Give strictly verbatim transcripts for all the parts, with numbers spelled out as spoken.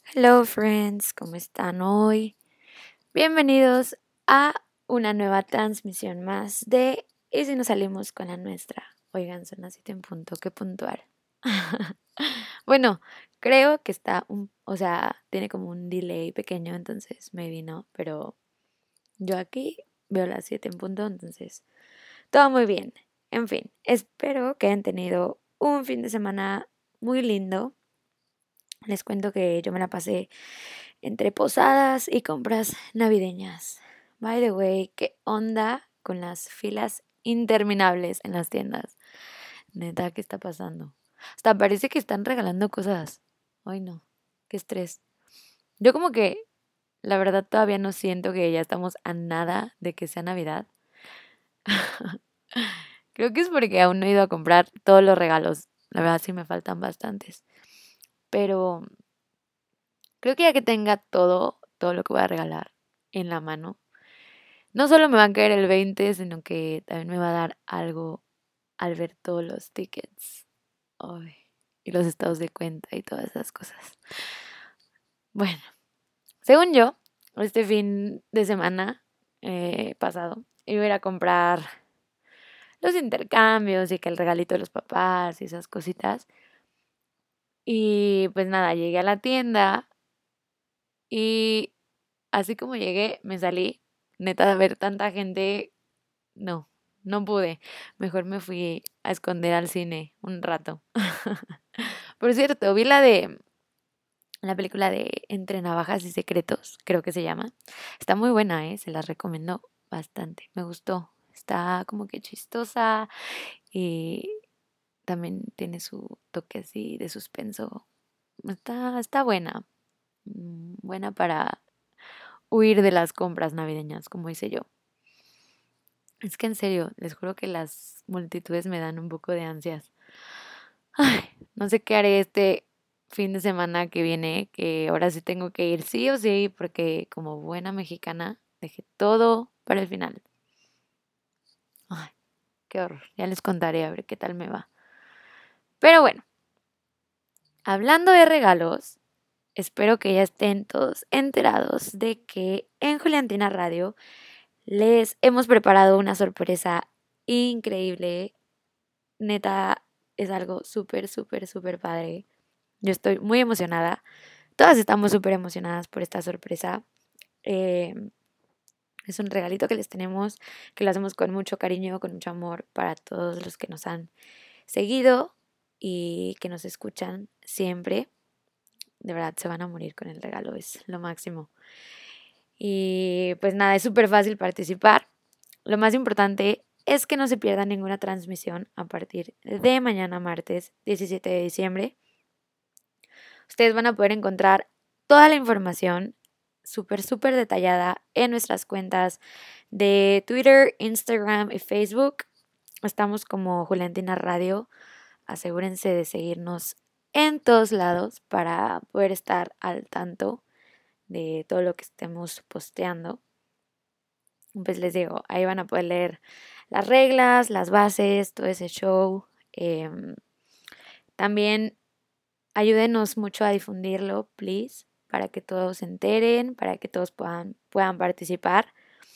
Hello friends, ¿cómo están hoy? Bienvenidos a una nueva transmisión más de ¿Y si nos salimos con la nuestra? Oigan, son las siete en punto, qué puntual. Bueno, creo que está un, o sea, tiene como un delay pequeño, entonces maybe no, pero yo aquí veo las siete en punto, entonces todo muy bien. En fin, espero que hayan tenido un fin de semana muy lindo. Les cuento que yo me la pasé entre posadas y compras navideñas. By the way, ¿qué onda con las filas interminables en las tiendas? Neta, ¿qué está pasando? Hasta parece que están regalando cosas. Ay, no, qué estrés. Yo como que, la verdad, todavía no siento que ya estamos a nada de que sea Navidad. Creo que es porque aún no he ido a comprar todos los regalos. La verdad sí me faltan bastantes. Pero creo que ya que tenga todo, todo lo que voy a regalar en la mano, no solo me va a caer el veinte, sino que también me va a dar algo al ver todos los tickets. Ay, y los estados de cuenta y todas esas cosas. Bueno, según yo, este fin de semana eh, pasado iba a ir a comprar los intercambios y que el regalito de los papás y esas cositas. Y pues nada, llegué a la tienda y así como llegué, me salí. Neta, de ver tanta gente. No, no pude. Mejor me fui a esconder al cine un rato. Por cierto, vi la de la película de Entre Navajas y Secretos, creo que se llama. Está muy buena, ¿eh? Se la recomiendo bastante. Me gustó. Está como que chistosa y también tiene su toque así de suspenso. Está, está buena. Mm, Buena para huir de las compras navideñas, como hice yo. Es que en serio, les juro que las multitudes me dan un poco de ansias. Ay, no sé qué haré este fin de semana que viene, que ahora sí tengo que ir sí o sí, porque como buena mexicana dejé todo para el final. Ay, qué horror. Ya les contaré a ver qué tal me va. Pero bueno, hablando de regalos, espero que ya estén todos enterados de que en Juliantina Radio les hemos preparado una sorpresa increíble. Neta, es algo súper, súper, súper padre. Yo estoy muy emocionada. Todas estamos súper emocionadas por esta sorpresa. Eh, es un regalito que les tenemos, que lo hacemos con mucho cariño, con mucho amor para todos los que nos han seguido y que nos escuchan siempre. De verdad, se van a morir con el regalo, es lo máximo. Y pues nada, es súper fácil participar. Lo más importante es que no se pierda ninguna transmisión a partir de mañana martes diecisiete de diciembre. Ustedes van a poder encontrar toda la información súper, súper detallada en nuestras cuentas de Twitter, Instagram y Facebook. Estamos como Juliantina Radio. Asegúrense de seguirnos en todos lados para poder estar al tanto de todo lo que estemos posteando. Pues les digo, ahí van a poder leer las reglas, las bases, todo ese show. Em, también ayúdenos mucho a difundirlo, please, para que todos se enteren, para que todos puedan, puedan participar.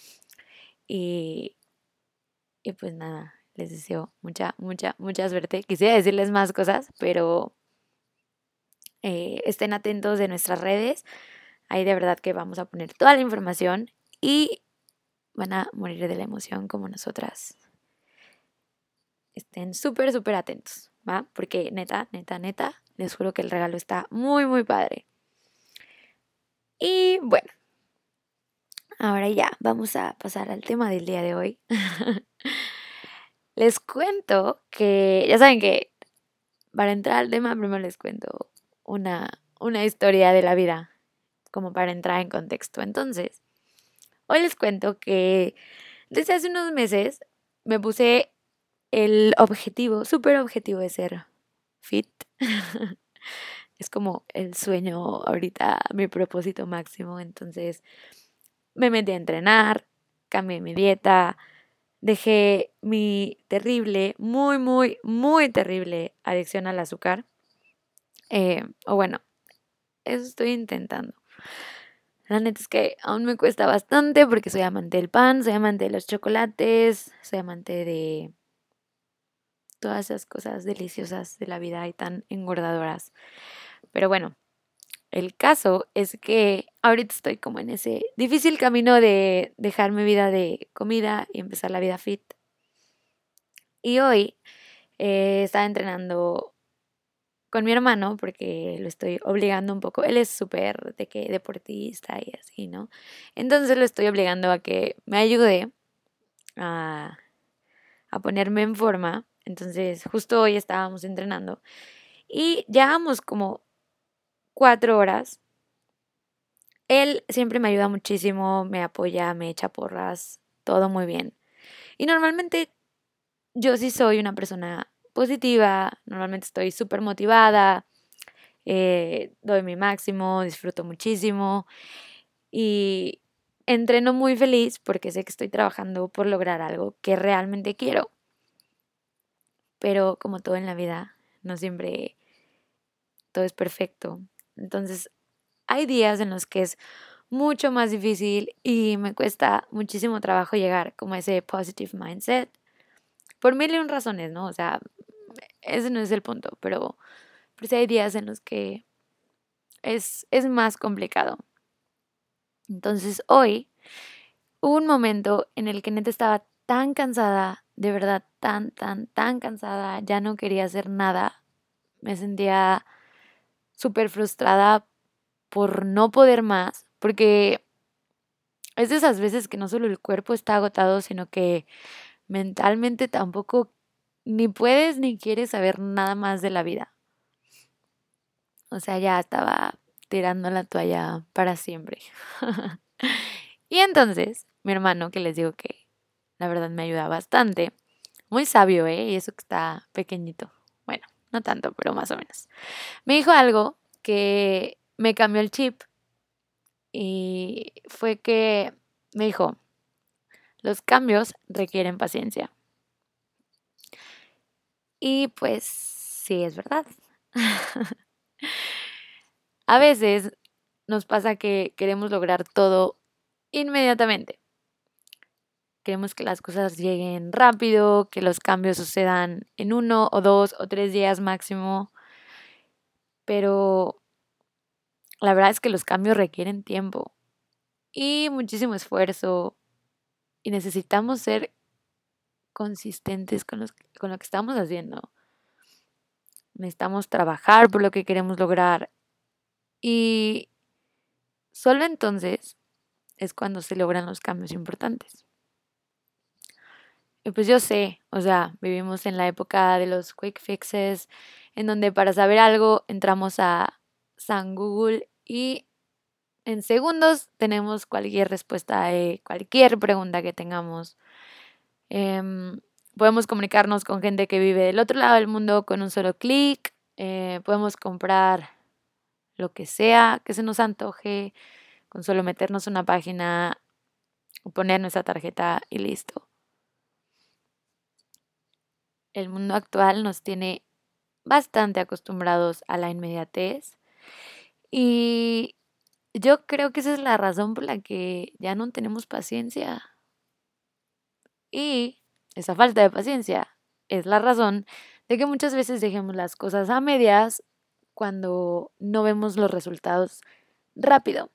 Y, y pues nada, les deseo mucha, mucha, mucha suerte. Quisiera decirles más cosas, pero eh, estén atentos de nuestras redes. Ahí de verdad que vamos a poner toda la información y van a morir de la emoción como nosotras. Estén súper, súper atentos, ¿va? Porque neta, neta, neta, les juro que el regalo está muy, muy padre. Y bueno, ahora ya, vamos a pasar al tema del día de hoy. Les cuento que, ya saben que para entrar al tema, primero les cuento una, una historia de la vida, como para entrar en contexto. Entonces, hoy les cuento que desde hace unos meses me puse el objetivo, súper objetivo de ser fit. Es como el sueño ahorita, mi propósito máximo. Entonces, me metí a entrenar, cambié mi dieta, dejé mi terrible, muy, muy, muy terrible adicción al azúcar. Eh, o bueno, eso estoy intentando. La neta es que aún me cuesta bastante porque soy amante del pan, soy amante de los chocolates, soy amante de todas esas cosas deliciosas de la vida y tan engordadoras. Pero bueno, el caso es que ahorita estoy como en ese difícil camino de dejar mi vida de comida y empezar la vida fit. Y hoy eh, estaba entrenando con mi hermano porque lo estoy obligando un poco. Él es súper de que deportista y así, ¿no? Entonces lo estoy obligando a que me ayude a, a ponerme en forma. Entonces justo hoy estábamos entrenando y llevamos como cuatro horas. Él siempre me ayuda muchísimo, me apoya, me echa porras, todo muy bien. Y normalmente yo sí soy una persona positiva, normalmente estoy súper motivada, eh, doy mi máximo, disfruto muchísimo y entreno muy feliz porque sé que estoy trabajando por lograr algo que realmente quiero. Pero como todo en la vida, no siempre todo es perfecto. Entonces, hay días en los que es mucho más difícil y me cuesta muchísimo trabajo llegar como a ese positive mindset. Por mil y un razones, ¿no? O sea, ese no es el punto, pero, pero sí hay días en los que es, es más complicado. Entonces, hoy hubo un momento en el que neta estaba tan cansada, de verdad, tan, tan, tan cansada, ya no quería hacer nada. Me sentía súper frustrada por no poder más, porque es de esas veces que no solo el cuerpo está agotado, sino que mentalmente tampoco ni puedes ni quieres saber nada más de la vida. O sea, ya estaba tirando la toalla para siempre. Y entonces, mi hermano, que les digo que la verdad me ayuda bastante, muy sabio, ¿eh? Y eso que está pequeñito. Bueno, no tanto, pero más o menos. Me dijo algo que me cambió el chip y fue que me dijo, los cambios requieren paciencia. Y pues sí, es verdad. A veces nos pasa que queremos lograr todo inmediatamente. Queremos que las cosas lleguen rápido, que los cambios sucedan en uno o dos o tres días máximo, pero la verdad es que los cambios requieren tiempo y muchísimo esfuerzo y necesitamos ser consistentes con, los, con lo que estamos haciendo. Necesitamos trabajar por lo que queremos lograr y solo entonces es cuando se logran los cambios importantes. Y pues yo sé, o sea, vivimos en la época de los quick fixes, en donde para saber algo entramos a San Google y en segundos tenemos cualquier respuesta a cualquier pregunta que tengamos. Em, podemos comunicarnos con gente que vive del otro lado del mundo con un solo clic. Eh, podemos comprar lo que sea que se nos antoje con solo meternos en una página, poner nuestra tarjeta y listo. El mundo actual nos tiene bastante acostumbrados a la inmediatez y yo creo que esa es la razón por la que ya no tenemos paciencia. Y esa falta de paciencia es la razón de que muchas veces dejemos las cosas a medias cuando no vemos los resultados rápido.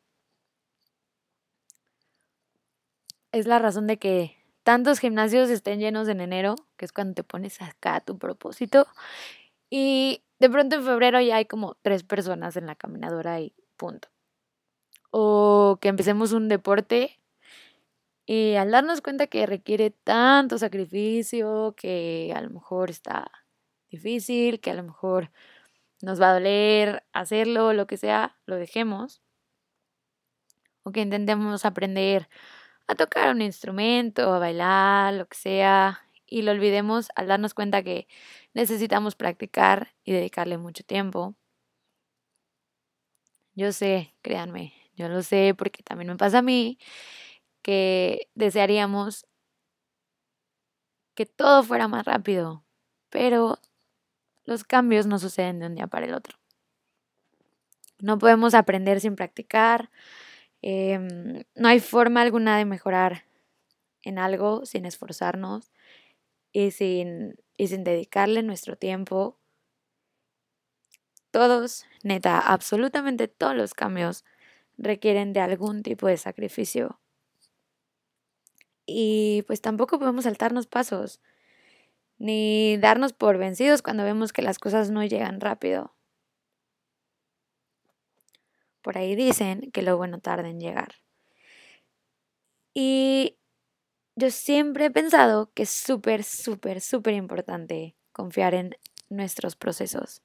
Es la razón de que tantos gimnasios estén llenos en enero, que es cuando te pones acá a tu propósito, y de pronto en febrero ya hay como tres personas en la caminadora y punto. O que empecemos un deporte y al darnos cuenta que requiere tanto sacrificio, que a lo mejor está difícil, que a lo mejor nos va a doler hacerlo, lo que sea, lo dejemos. O que intentemos aprender a tocar un instrumento, a bailar, lo que sea, y lo olvidemos al darnos cuenta que necesitamos practicar y dedicarle mucho tiempo. Yo sé, créanme, yo lo sé porque también me pasa a mí que desearíamos que todo fuera más rápido, pero los cambios no suceden de un día para el otro. No podemos aprender sin practicar. Em, no hay forma alguna de mejorar en algo sin esforzarnos y sin, y sin dedicarle nuestro tiempo. Todos, neta, absolutamente todos los cambios requieren de algún tipo de sacrificio. Y pues tampoco podemos saltarnos pasos, ni darnos por vencidos cuando vemos que las cosas no llegan rápido. Por ahí dicen que lo bueno tarda en llegar. Y yo siempre he pensado que es súper, súper, súper importante confiar en nuestros procesos.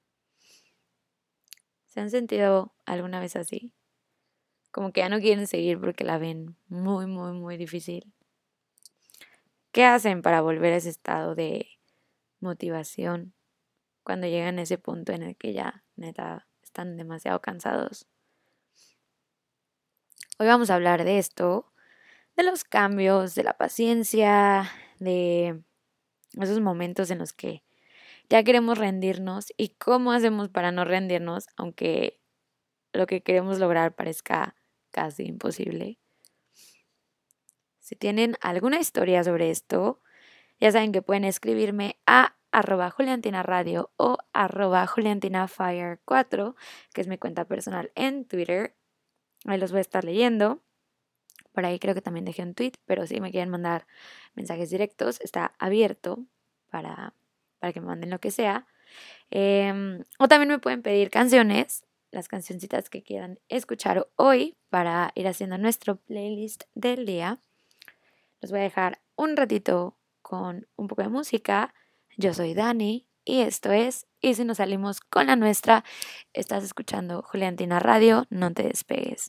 ¿Se han sentido alguna vez así? Como que ya no quieren seguir porque la ven muy, muy, muy difícil. ¿Qué hacen para volver a ese estado de motivación cuando llegan a ese punto en el que ya, neta, están demasiado cansados? Hoy vamos a hablar de esto, de los cambios, de la paciencia, de esos momentos en los que ya queremos rendirnos y cómo hacemos para no rendirnos, aunque lo que queremos lograr parezca casi imposible. Si tienen alguna historia sobre esto, ya saben que pueden escribirme a arroba juliantinaradio o arroba juliantinafire cuatro, que es mi cuenta personal en Twitter. Ahí los voy a estar leyendo. Por ahí creo que también dejé un tweet, pero si me quieren mandar mensajes directos, está abierto para, para que me manden lo que sea. Eh, o también me pueden pedir canciones, las cancioncitas que quieran escuchar hoy para ir haciendo nuestro playlist del día. Los voy a dejar un ratito con un poco de música. Yo soy Dani y esto es Y si nos salimos con la nuestra. Estás escuchando Juliantina Radio, no te despegues.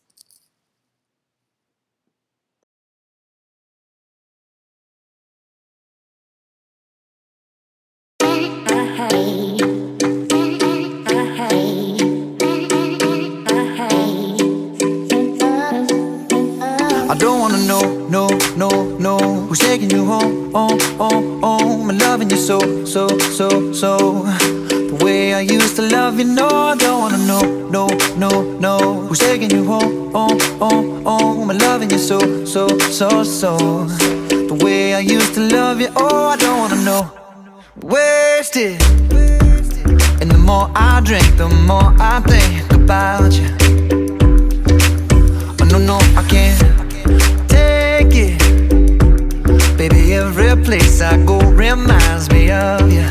I don't wanna know, no, no, no who's taking you home, home, home, home and loving you so, so, so, so the way I used to love you, no, I don't wanna know, no, no, no who's taking you home, home, home, home and loving you so, so, so, so the way I used to love you, oh, I don't wanna know. Wasted. And the more I drink, the more I think about you. Oh no, no, I can't take it. Baby, every place I go reminds me of you.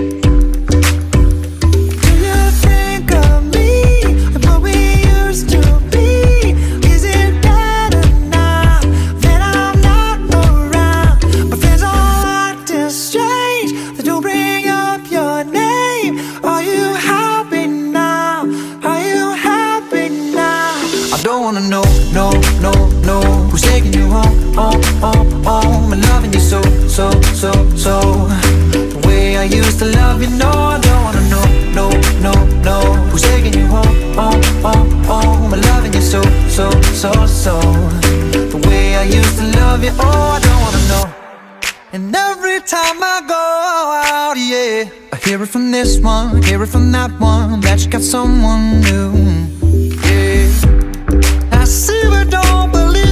Do you think of me and what we used to be? Is it better now that I'm not around? My friends all acting strange, they don't bring up your name. Are you happy now? Are you happy now? I don't wanna know, no, no, no who's taking you home, home, home, home and loving you so, so, so, so the way I used to love you, no, I don't wanna know, no, no, no who's taking you home, home, home, home and loving you so, so, so, so the way I used to love you, oh, I don't wanna know. And every time I go out, yeah, I hear it from this one, hear it from that one, that you got someone new, yeah. I see but don't believe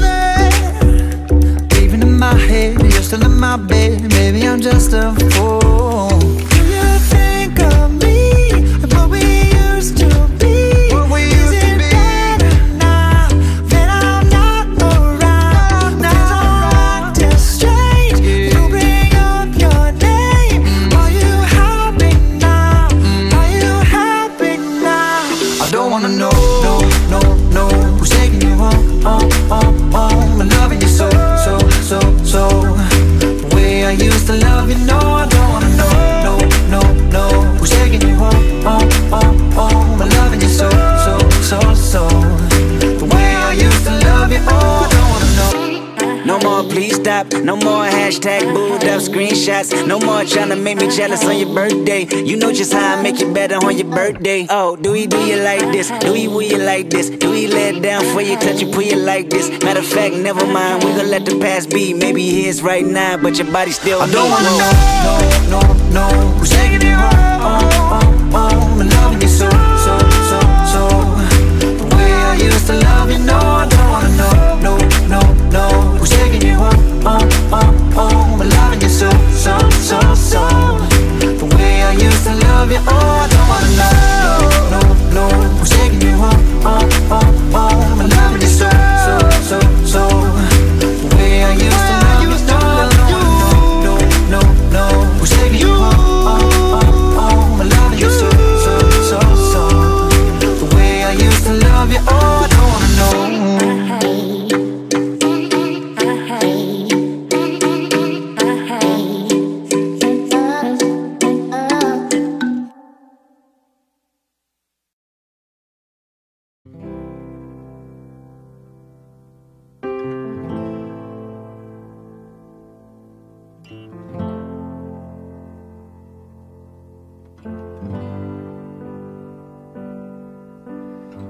it. Even in my head, you're still in my bed. Maybe I'm just a fool. Do you think of me and what we used to be? What we used Is to it be? Better now that I'm not around? Now I'm acting strange. Yeah. You bring up your name. Mm. Are you happy now? Mm. Are you happy now? I don't wanna know, no, no, no who's taking you home, home, home, home and loving you so, so, so, so the way I used to love you, no, I don't wanna know, no, no, no who's taking you home, home, home, home and loving you so, so, so, so the way I used to love you, oh, I don't wanna know. No more please stop, no more hashtag booed up screenshots. No more tryna make me jealous on your birthday. You know just how I make you better on your birthday. Oh, do we do you like this? Do we will you like this? Do we let down for you, touch you, put you like this? Matter of fact, never mind, we gon' let the past be. Maybe here's right now, but your body still I don't wanna know, no, no, no who's taking you home, home, home, home and loving you so, so, so, so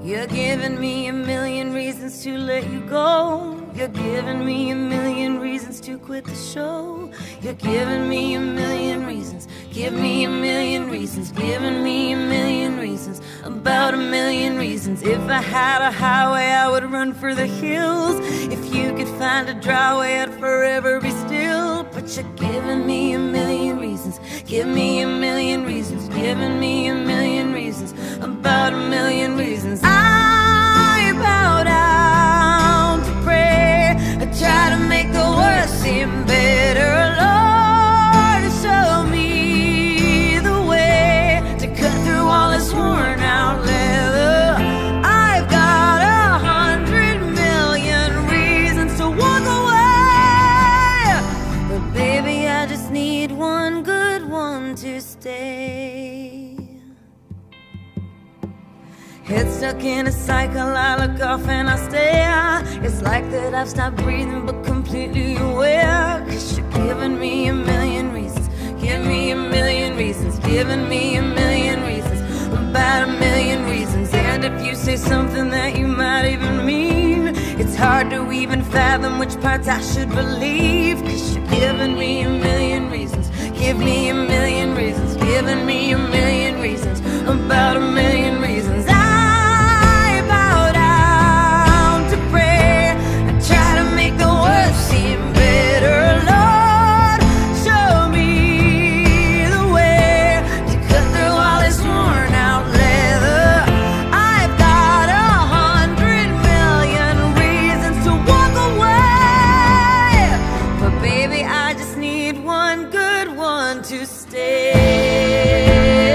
You're giving me a million reasons to let you go. You're giving me a million reasons to quit the show. You're giving me a million reasons. Give me a million reasons. Giving me a million reasons. About a million reasons. If I had a highway, I would run for the hills. If you could find a dry way, I'd forever be still. But you're giving me a million reasons. Give me a million reasons. Giving me a million reasons. About a million reasons. I bow down to pray. I try to make the worst seem better. Lord, show me the way to cut through all this worn out leather. I've got a hundred million reasons to walk away, but baby, I just need one good one to stay. Head stuck in a cycle, I look off and I stare. It's like that I've stopped breathing but completely aware. Cause you're giving me a million reasons. Give me a million reasons. Giving me a million reasons. About a million reasons. And if you say something that you might even mean, it's hard to even fathom which parts I should believe. Cause you're giving me a million reasons. Give me a million reasons. Giving me a million reasons. About a million reasons. Seem better, Lord, show me the way to cut through all this worn out leather. I've got a hundred million reasons to walk away, but baby, I just need one good one to stay.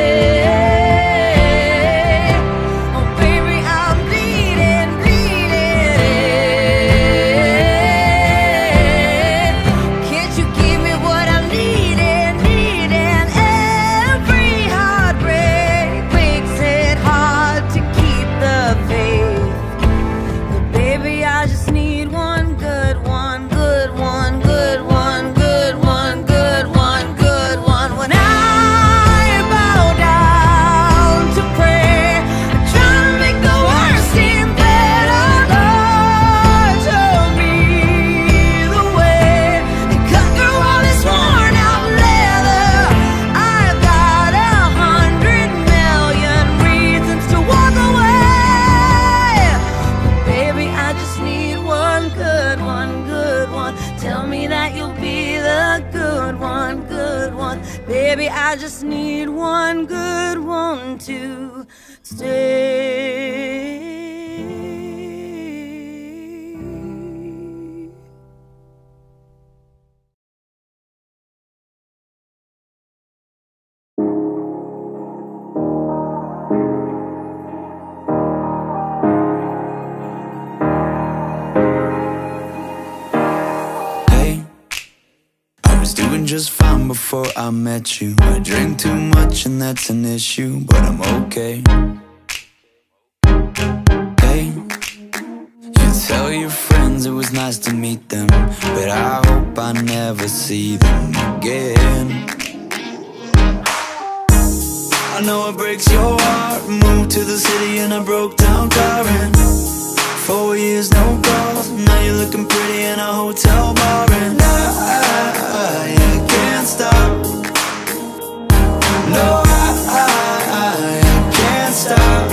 Baby, I just need one good one to stay. Just fine before I met you. I drink too much and that's an issue, but I'm okay. Hey, you tell your friends it was nice to meet them, but I hope I never see them again. I know it breaks your heart. Moved to the city in a broke down car, and four years no calls. Now you're looking pretty in a hotel bar, and I, I can't stop. No, I, I, I can't stop.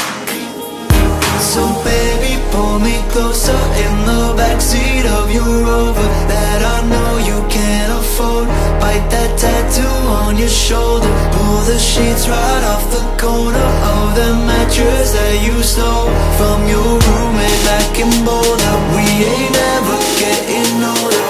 So baby, pull me closer in the backseat of your Rover that I know you can't afford. Bite that tattoo on your shoulder. Pull the sheets right off the corner of the mattress that you stole from your roommate back in Boulder. We ain't never getting older.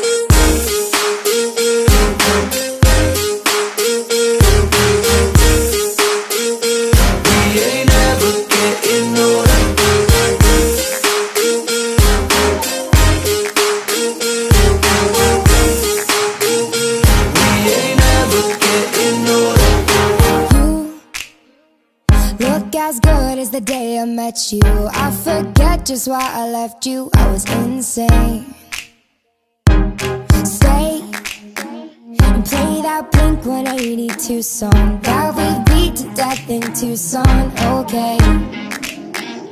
The day I met you, I forget just why I left you. I was insane. Stay and play that Blink one eighty-two song that we beat to death in Tucson. Okay,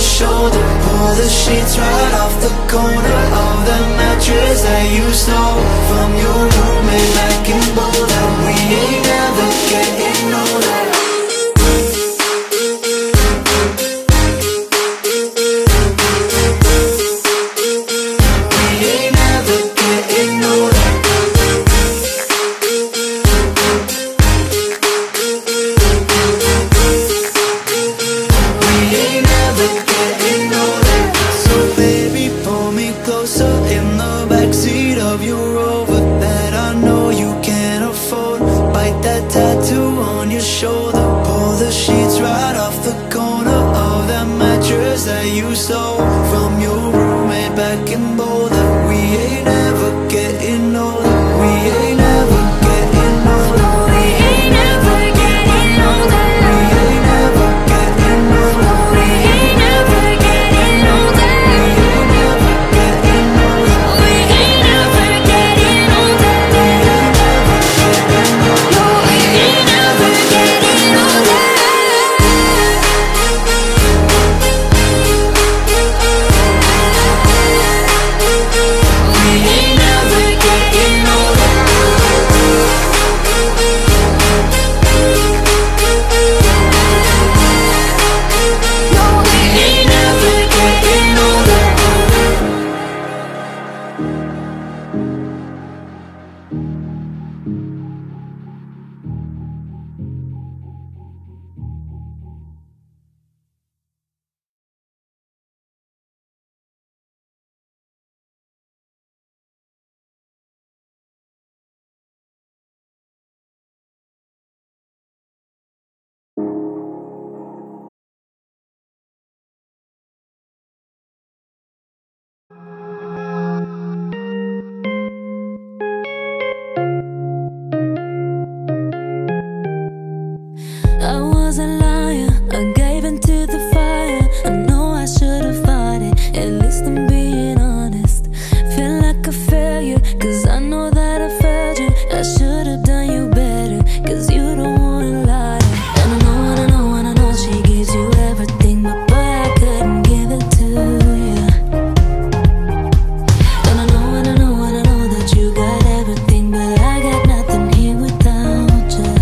your shoulder. Pull the sheets right off the corner of the mattress that you stole from your roommate back in Boulder. We ain't never getting older. You stole from your roommate back in Boulder. We ain't never getting older. We ain't never getting older. We ain't never getting older. We ain't never getting older. We ain't never getting older. We ain't never getting older. We ain't never getting older. I was a liar, I gave into the fire. I know I should have fought it, at least I'm being honest. Feel like a failure, cause I know that I failed you. I should have done you better, cause you don't wanna lie. And I know, and I know, and I know she gives you everything, but boy, I couldn't give it to you. And I know, and I know, and I know that you got everything, but I got nothing here without you.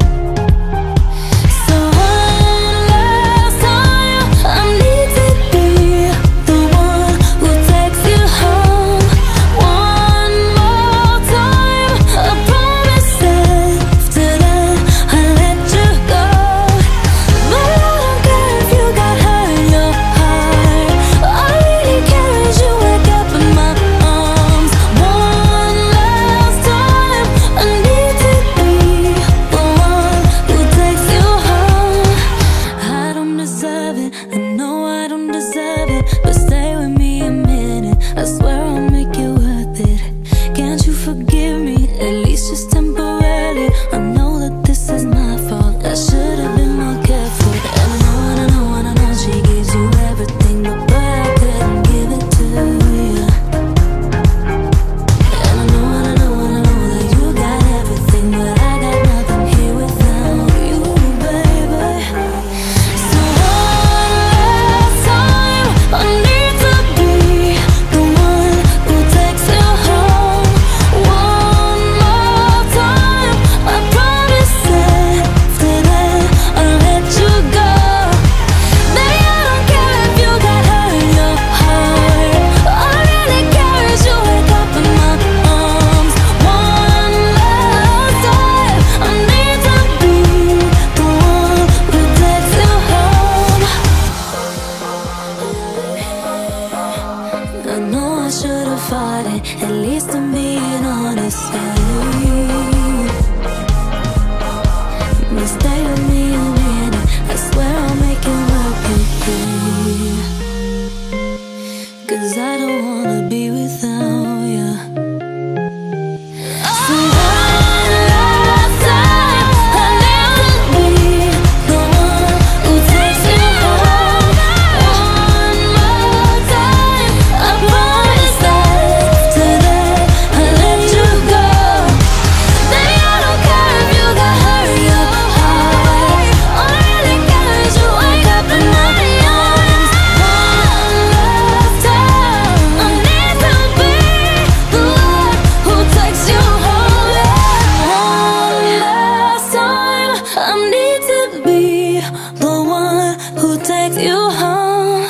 At least I'm being honest. But stay with me a minute, I swear I'll make it work with you. Cause I don't wanna be without you. So one last time, I never be the one who takes you home. One more time, I promise that today who takes you home.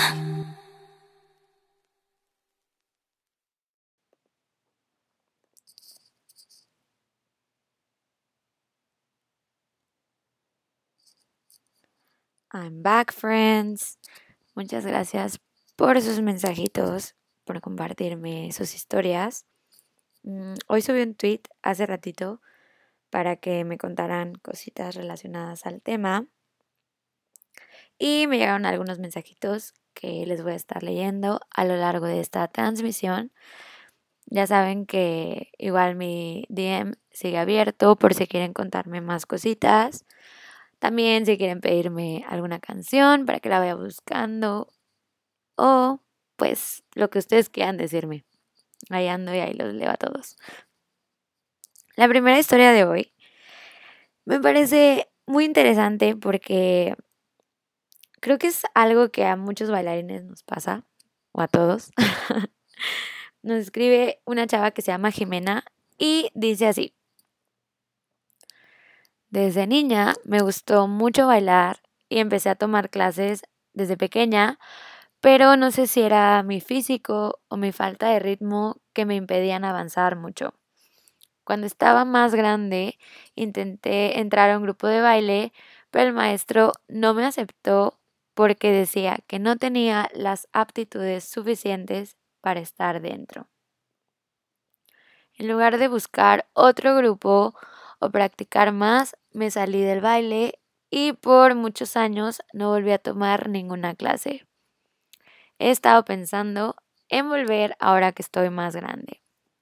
I'm back, friends. Muchas gracias por sus mensajitos, por compartirme sus historias. Mm, Hoy subí un tweet hace ratito para que me contaran cositas relacionadas al tema y me llegaron algunos mensajitos que les voy a estar leyendo a lo largo de esta transmisión. Ya saben que igual mi D M sigue abierto por si quieren contarme más cositas. También si quieren pedirme alguna canción para que la vaya buscando o pues lo que ustedes quieran decirme. Ahí ando y ahí los leo a todos. La primera historia de hoy me parece muy interesante porque creo que es algo que a muchos bailarines nos pasa, o a todos. Nos escribe una chava que se llama Jimena y dice así: desde niña me gustó mucho bailar y empecé a tomar clases desde pequeña, pero no sé si era mi físico o mi falta de ritmo que me impedían avanzar mucho. Cuando estaba más grande, intenté entrar a un grupo de baile, pero el maestro no me aceptó porque decía que no tenía las aptitudes suficientes para estar dentro. En lugar de buscar otro grupo o practicar más, me salí del baile y por muchos años no volví a tomar ninguna clase. He estado pensando en volver ahora que estoy más grande.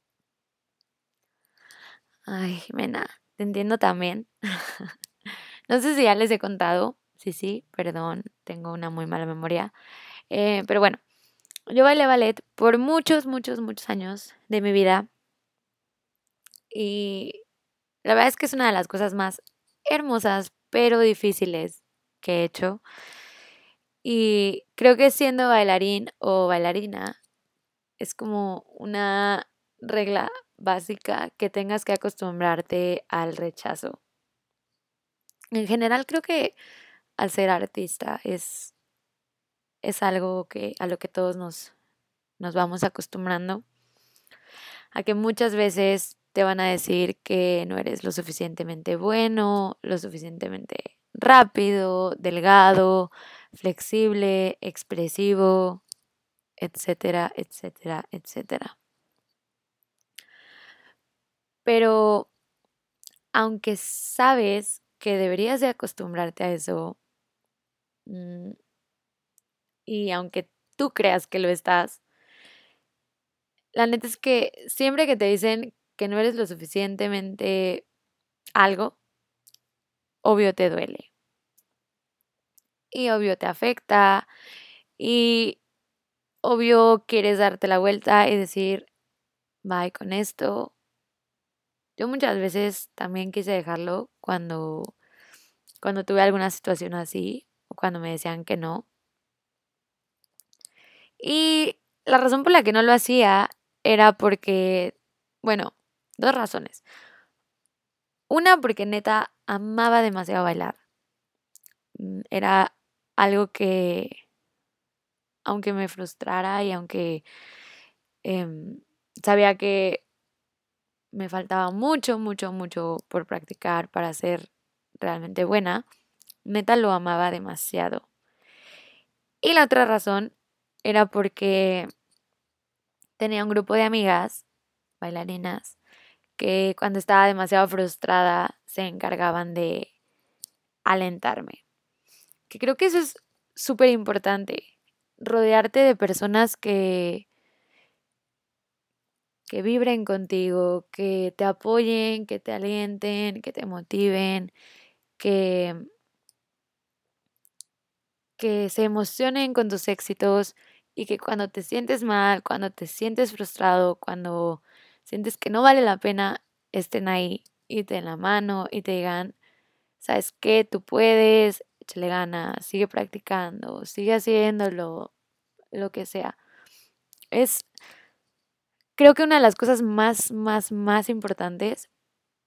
Ay, Jimena, te entiendo también. No sé si ya les he contado. Sí, sí, perdón, tengo una muy mala memoria. Eh, pero bueno, yo bailé ballet por muchos, muchos, muchos años de mi vida. Y la verdad es que es una de las cosas más hermosas, pero difíciles que he hecho. Y creo que siendo bailarín o bailarina es como una regla básica que tengas que acostumbrarte al rechazo. En general creo que al ser artista es, es algo que, a lo que todos nos, nos vamos acostumbrando, a que muchas veces te van a decir que no eres lo suficientemente bueno, lo suficientemente rápido, delgado, flexible, expresivo, etcétera, etcétera, etcétera. Pero aunque sabes que deberías de acostumbrarte a eso, mm, y aunque tú creas que lo estás, la neta es que siempre que te dicen que no eres lo suficientemente algo, obvio te duele. Y obvio te afecta. Y obvio quieres darte la vuelta y decir, bye con esto. Yo muchas veces también quise dejarlo cuando, cuando tuve alguna situación así o cuando me decían que no. Y la razón por la que no lo hacía era porque, bueno, dos razones. Una, porque neta amaba demasiado bailar. Mm, Era algo que, aunque me frustrara y aunque em, sabía que me faltaba mucho, mucho, mucho por practicar para ser realmente buena, neta lo amaba demasiado. Y la otra razón era porque tenía un grupo de amigas bailarinas que cuando estaba demasiado frustrada se encargaban de alentarme. Que creo que eso es súper importante, rodearte de personas que, que vibren contigo, que te apoyen, que te alienten, que te motiven, que, que se emocionen con tus éxitos y que cuando te sientes mal, cuando te sientes frustrado, cuando sientes que no vale la pena, estén ahí y te den la mano y te digan, ¿sabes qué? Tú puedes, échale ganas, sigue practicando, sigue haciéndolo, lo que sea. Es, creo que una de las cosas más, más, más importantes,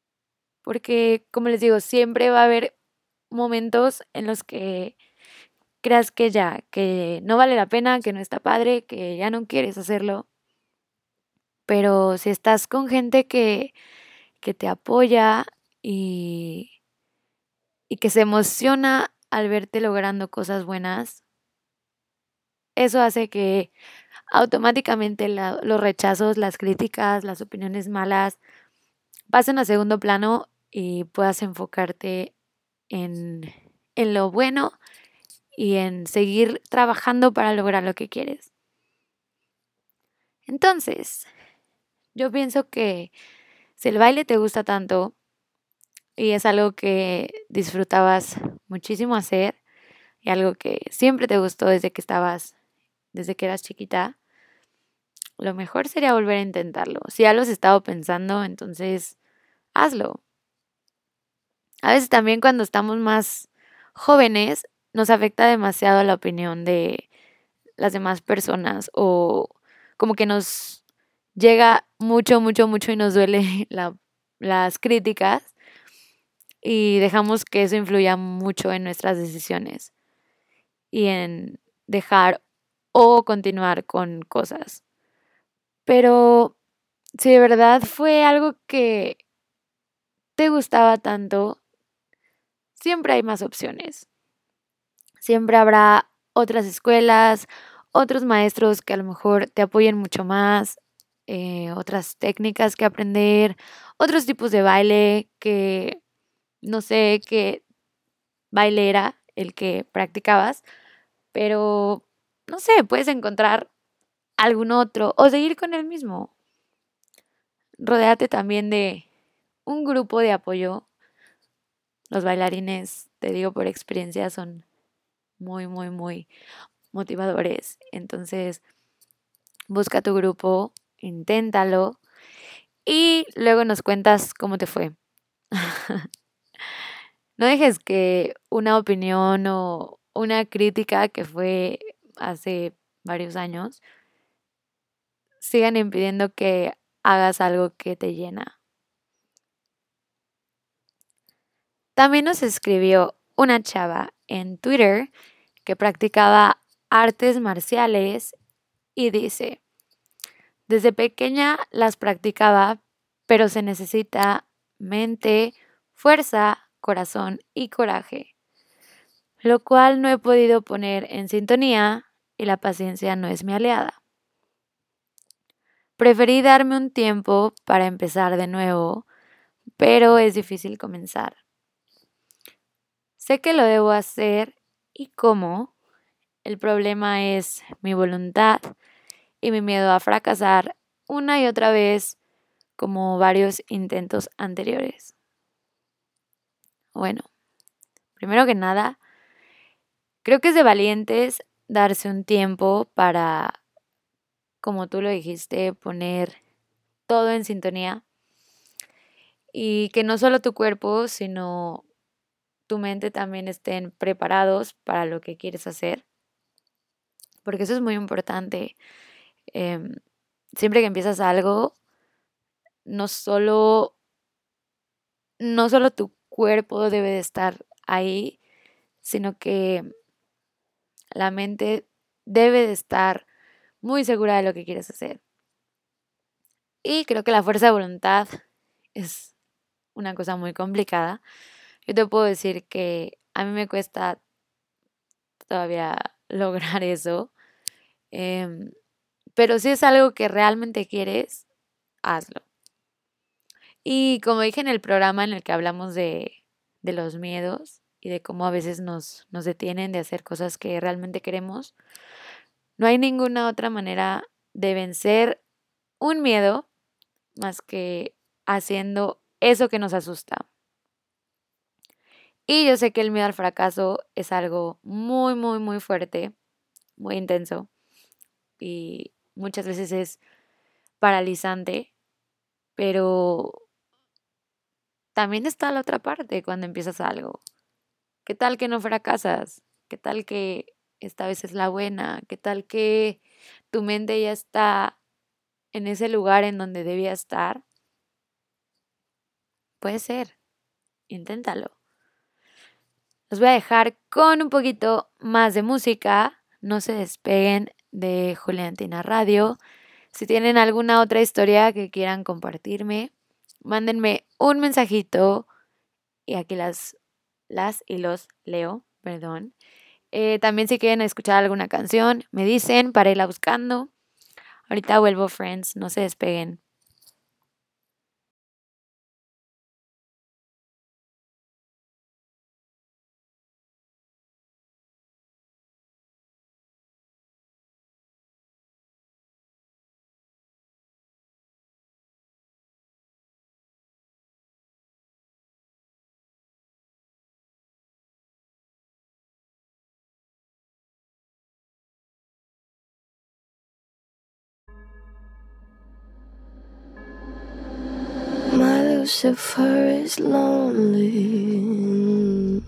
porque como les digo, siempre va a haber momentos en los que creas que ya, que no vale la pena, que no está padre, que ya no quieres hacerlo. Pero si estás con gente que, que te apoya y, y que se emociona al verte logrando cosas buenas, eso hace que automáticamente la- los rechazos, las críticas, las opiniones malas pasen a segundo plano y puedas enfocarte en, en lo bueno y en seguir trabajando para lograr lo que quieres. Entonces, yo pienso que si el baile te gusta tanto y es algo que disfrutabas muchísimo hacer y algo que siempre te gustó desde que estabas, desde que eras chiquita, lo mejor sería volver a intentarlo. Si ya lo has estado pensando, entonces hazlo. A veces también cuando estamos más jóvenes nos afecta demasiado la opinión de las demás personas o como que nos llega mucho, mucho, mucho y nos duele la- las críticas y dejamos que eso influya mucho en nuestras decisiones y en dejar o continuar con cosas. Pero si de verdad fue algo que te gustaba tanto, siempre hay más opciones. Siempre habrá otras escuelas, otros maestros que a lo mejor te apoyen mucho más, eh, otras técnicas que aprender, otros tipos de baile que no sé qué baile era el que practicabas, pero no sé, puedes encontrar algún otro o seguir con el mismo. Rodéate también de un grupo de apoyo. Los bailarines, te digo por experiencia, son muy, muy, muy motivadores. Entonces, busca tu grupo, inténtalo y luego nos cuentas cómo te fue. No dejes que una opinión o una crítica que fue hace varios años sigan impidiendo que hagas algo que te llena. También nos escribió una chava en Twitter que practicaba artes marciales y dice, desde pequeña las practicaba, pero se necesita mente, fuerza, corazón y coraje, lo cual no he podido poner en sintonía y la paciencia no es mi aliada. Preferí darme un tiempo para empezar de nuevo, pero es difícil comenzar. Sé que lo debo hacer y cómo. El problema es mi voluntad y mi miedo a fracasar una y otra vez como varios intentos anteriores. Bueno, primero que nada, creo que es de valientes darse un tiempo para, como tú lo dijiste, poner todo en sintonía y que no solo tu cuerpo, sino tu mente también estén preparados para lo que quieres hacer, porque eso es muy importante. Em, siempre que empiezas algo, no solo, no solo tu cuerpo debe de estar ahí, sino que la mente debe de estar muy segura de lo que quieres hacer. Y creo que la fuerza de voluntad es una cosa muy complicada. Yo te puedo decir que a mí me cuesta todavía lograr eso. em, pero si es algo que realmente quieres, hazlo. Y como dije en el programa en el que hablamos de, de los miedos y de cómo a veces nos, nos detienen de hacer cosas que realmente queremos, no hay ninguna otra manera de vencer un miedo más que haciendo eso que nos asusta. Y yo sé que el miedo al fracaso es algo muy, muy, muy fuerte, muy intenso y muchas veces es paralizante, pero también está la otra parte cuando empiezas algo. ¿Qué tal que no fracasas? ¿Qué tal que esta vez es la buena? ¿Qué tal que tu mente ya está en ese lugar en donde debía estar? Puede ser, inténtalo. Los voy a dejar con un poquito más de música. No se despeguen de Juliantina Radio. Si tienen alguna otra historia que quieran compartirme, mándenme un mensajito y aquí las, las y los leo, perdón. Eh, también si quieren escuchar alguna canción, me dicen para irla buscando. Ahorita vuelvo, friends, no se despeguen. My Lucifer is lonely,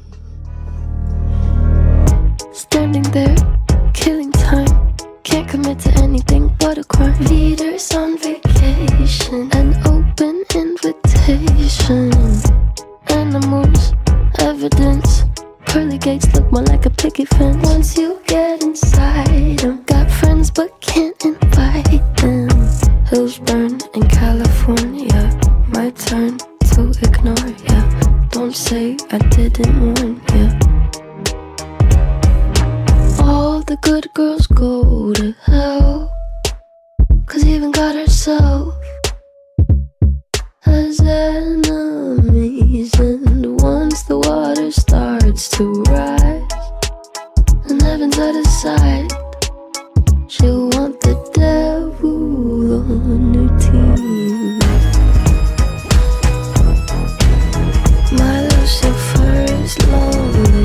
standing there, killing time. Can't commit to anything but a crime. Leaders on vacation, an open invitation. Animals, evidence. Pearly gates look more like a picket fence. Once you get inside them, got friends but can't invite them. Hills burn in California. My turn to ignore ya. Don't say I didn't warn ya. All the good girls go to hell, 'cause even God herself has enemies. And once the water starts to rise and heaven's out of sight, she'll want the devil on her team. My Lucifer is lonely.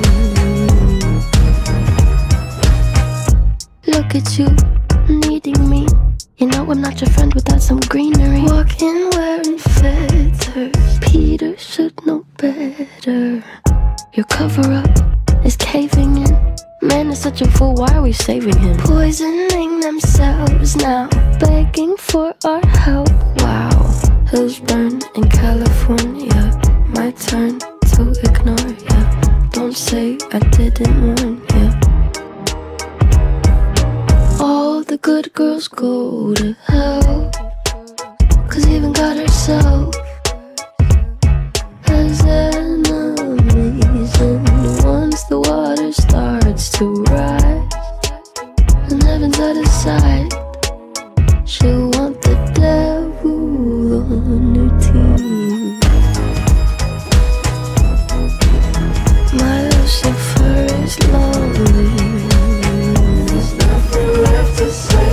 Look at you, needing me. You know I'm not your friend without some greenery. Walking wearing feathers, Peter should know better. Your cover-up is caving in. Man is such a fool, why are we saving him? Poisoning themselves now, begging for our help. Wow, hills burn in California. My turn to ignore ya. Don't say I didn't warn ya. All the good girls go to hell, 'cause even God herself has enemies. And once the water starts to rise and heaven's out of sight, she'll want the devil on her team. My Lucifer is lonely. There's nothing left to say.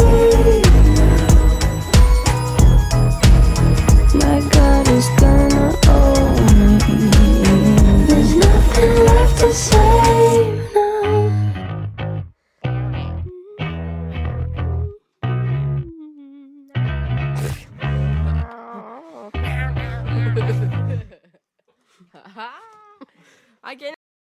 My God is gonna own me. There's nothing left to say now. I get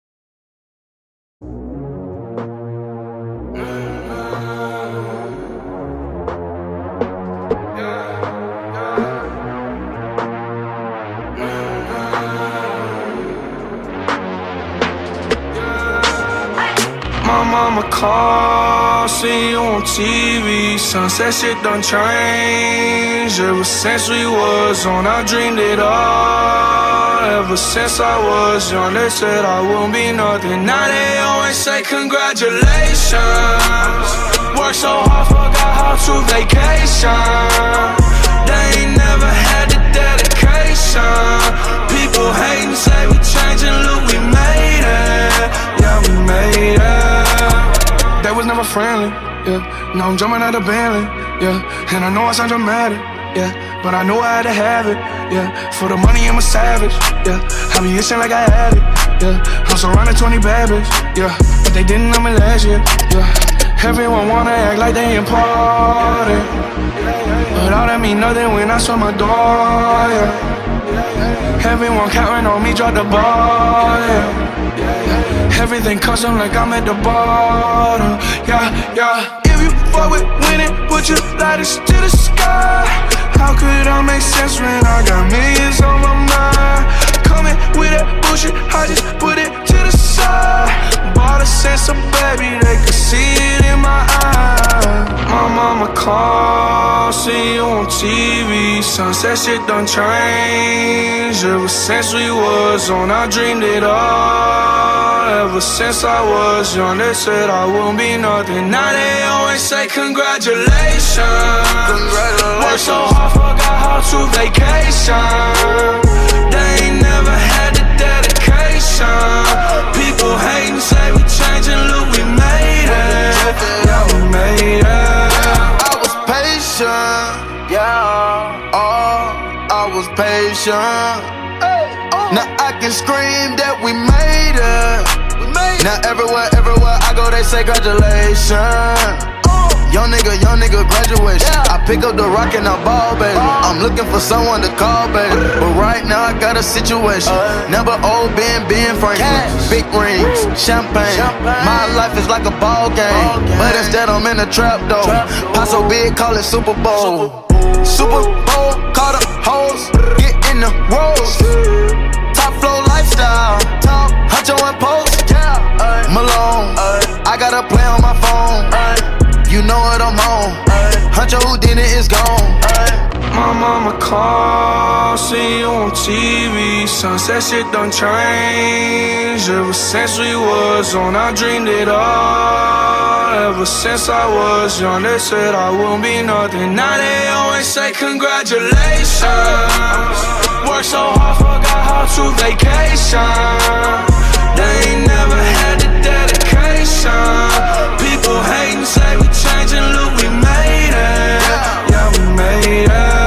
My mama call, see you on T V. Sunset shit done changed. Ever since we was on, I dreamed it all. Ever since I was young, they said I won't be nothing. Now they always say congratulations. Worked so hard, forgot how to vacation. They ain't never had the dedication. People hating, say we changing, look, we made it. Yeah, we made it. That was never friendly, yeah. Now I'm jumping out of Bentley, yeah. And I know I sound dramatic, yeah. But I know I had to have it, yeah. For the money I'm a savage, yeah. I be itching like I had it, yeah. I'm surrounded twenty bad bitches, yeah. But they didn't know me last year, yeah. Everyone wanna act like they important, but all that mean nothing when I saw my door, yeah. Everyone counting on me, drop the ball, yeah. Everything custom like I'm at the bottom, yeah, yeah. If you fuck with winning, put your lighters to the sky. How could I make sense when I got millions on my mind? coming with that bullshit, I just put it to the side. Bought a sense of baby, they could see it in my eyes. My mama called, see you on T V. Sunset shit done changed. Ever since we was on, I dreamed it all. Ever since I was young, they said I wouldn't be nothing. Now they always say congratulations. Congratulations. Worked so hard, forgot how to vacation. They ain't never had the dedication. People hating, say we changing, look, we made it. Yeah, we made it. I was patient, yeah. Oh, I was patient. Now I can scream that we made it. Now everywhere, everywhere I go, they say congratulations. Young nigga, young nigga, graduation. I pick up the rock and I ball, baby. I'm looking for someone to call, baby. But right now I got a situation. Never old Ben, Ben Franklin. Big rings, champagne. My life is like a ball game, but instead I'm in a trap though. Pot so big, call it Super Bowl. Super Bowl, call the hoes, get in the rolls. Top flow lifestyle, Huncho and Post, Malone. I got a play on my phone. You know what I'm on. Huncho who did it is gone. My mama called, see you on T V. Sunset shit done changed. Ever since we was on, I dreamed it all. Ever since I was young, they said I wouldn't be nothing. Now they always say congratulations. Worked so hard, forgot how to vacation. They ain't never had the dedication. People hating, say we changing, look, we made it. Yeah, we made it.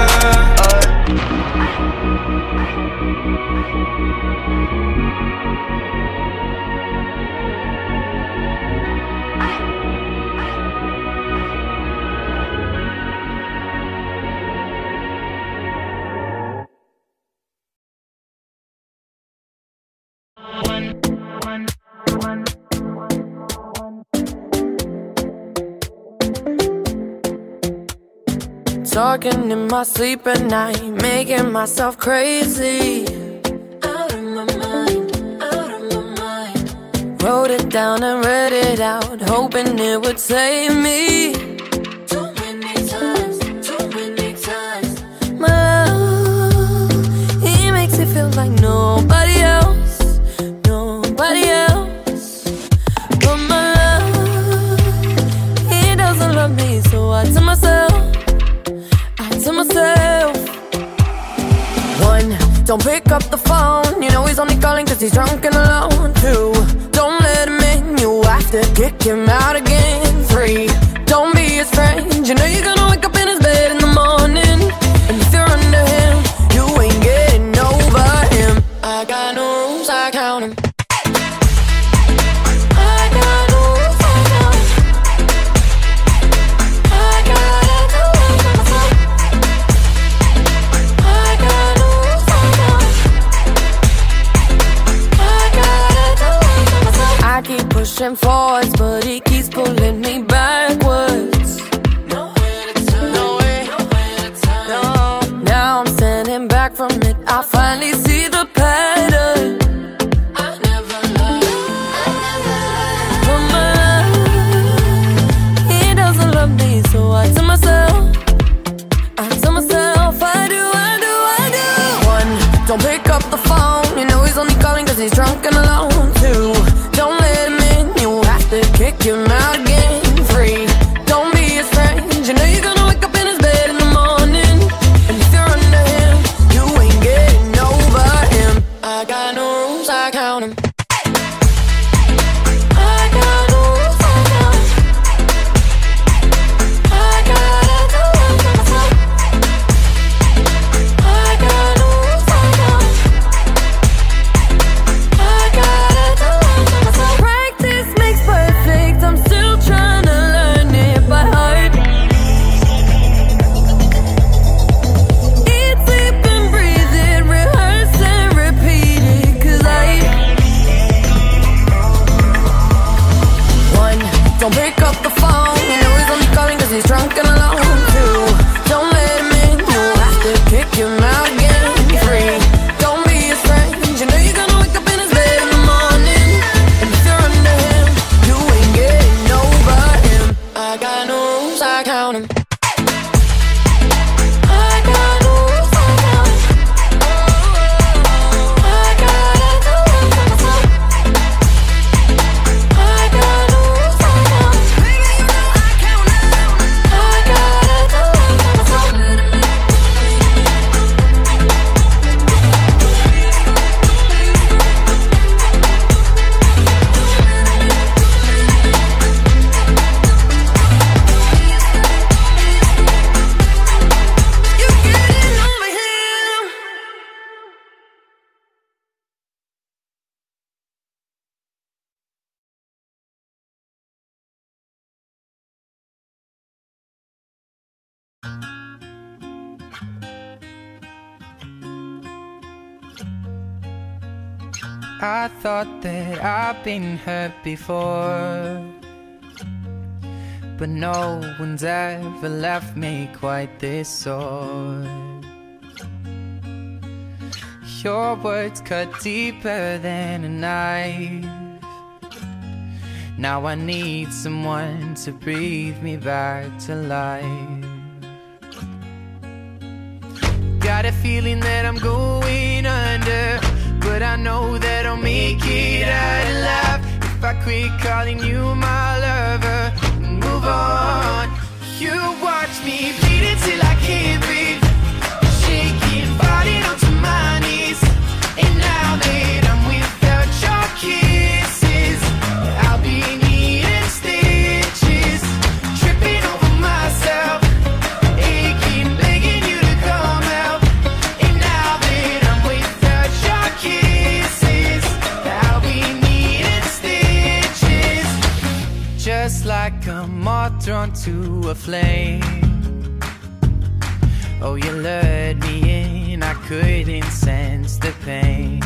Talking in my sleep at night, making myself crazy. Out of my mind, out of my mind. Wrote it down and read it out, hoping it would save me. Too many times, too many times. My love, he makes me feel like nobody else, nobody else. But my love, he doesn't love me, so I tell myself, to myself. One, don't pick up the phone. You know he's only calling cause he's drunk and alone. Two, don't let him in. You have to kick him out again. Three, don't be his friend. You know you're gonna wake up in his bed in the morning. And if you're under him, you ain't getting over him. I got no rules, I count him. Pushing forwards, but he keeps pulling me backwards. Nowhere to turn, nowhere, nowhere to turn. No. Now I'm standing back from it. I finally see the pattern. I never loved, I never loved. But my love, he doesn't love me, so I tell myself, I tell myself, I do, I do, I do. One, don't pick up the phone. You know he's only calling cause he's drunk and alone. Two, don't let him in. Kick him out again. Three, don't be his friend. You know you're gonna wake up in his bed in the morning. And if you're under him, you ain't getting over him. I got no rules, I count him. I got no rules, I count him. I gotta do it for myself. I got no rules, I count him. I gotta do it for myself. Practice makes perfect. I'm still trying to learn it by heart. Eat, sleep and breathe it, rehearse and repeat it. Cause I One, don't pick up the phone. You know he's only calling cause he's drunk and alone. Two, don't let him in. You have to kick him out again. Three, don't be his friend. You count 'em. I got no rules, I count 'em. I gotta do it for myself. I got no rules, I count 'em. Baby, you know I count 'em. I gotta do it for myself. I thought that I've been hurt before, but no one's ever left me quite this sore. Your words cut deeper than a knife. Now I need someone to breathe me back to life. Got a feeling that I'm going under, but I know that I'll make it out alive if I quit calling you my lover and move on. You watch me bleed till I can't breathe, shaking, falling onto my knees. And now that I'm without your kisses, I'll be needing stitches, tripping over myself, aching, begging you to come out. And now that I'm without your kisses, I'll be needing stitches, just like a moth drawn to a flame. Oh, you lured me in, I couldn't sense the pain.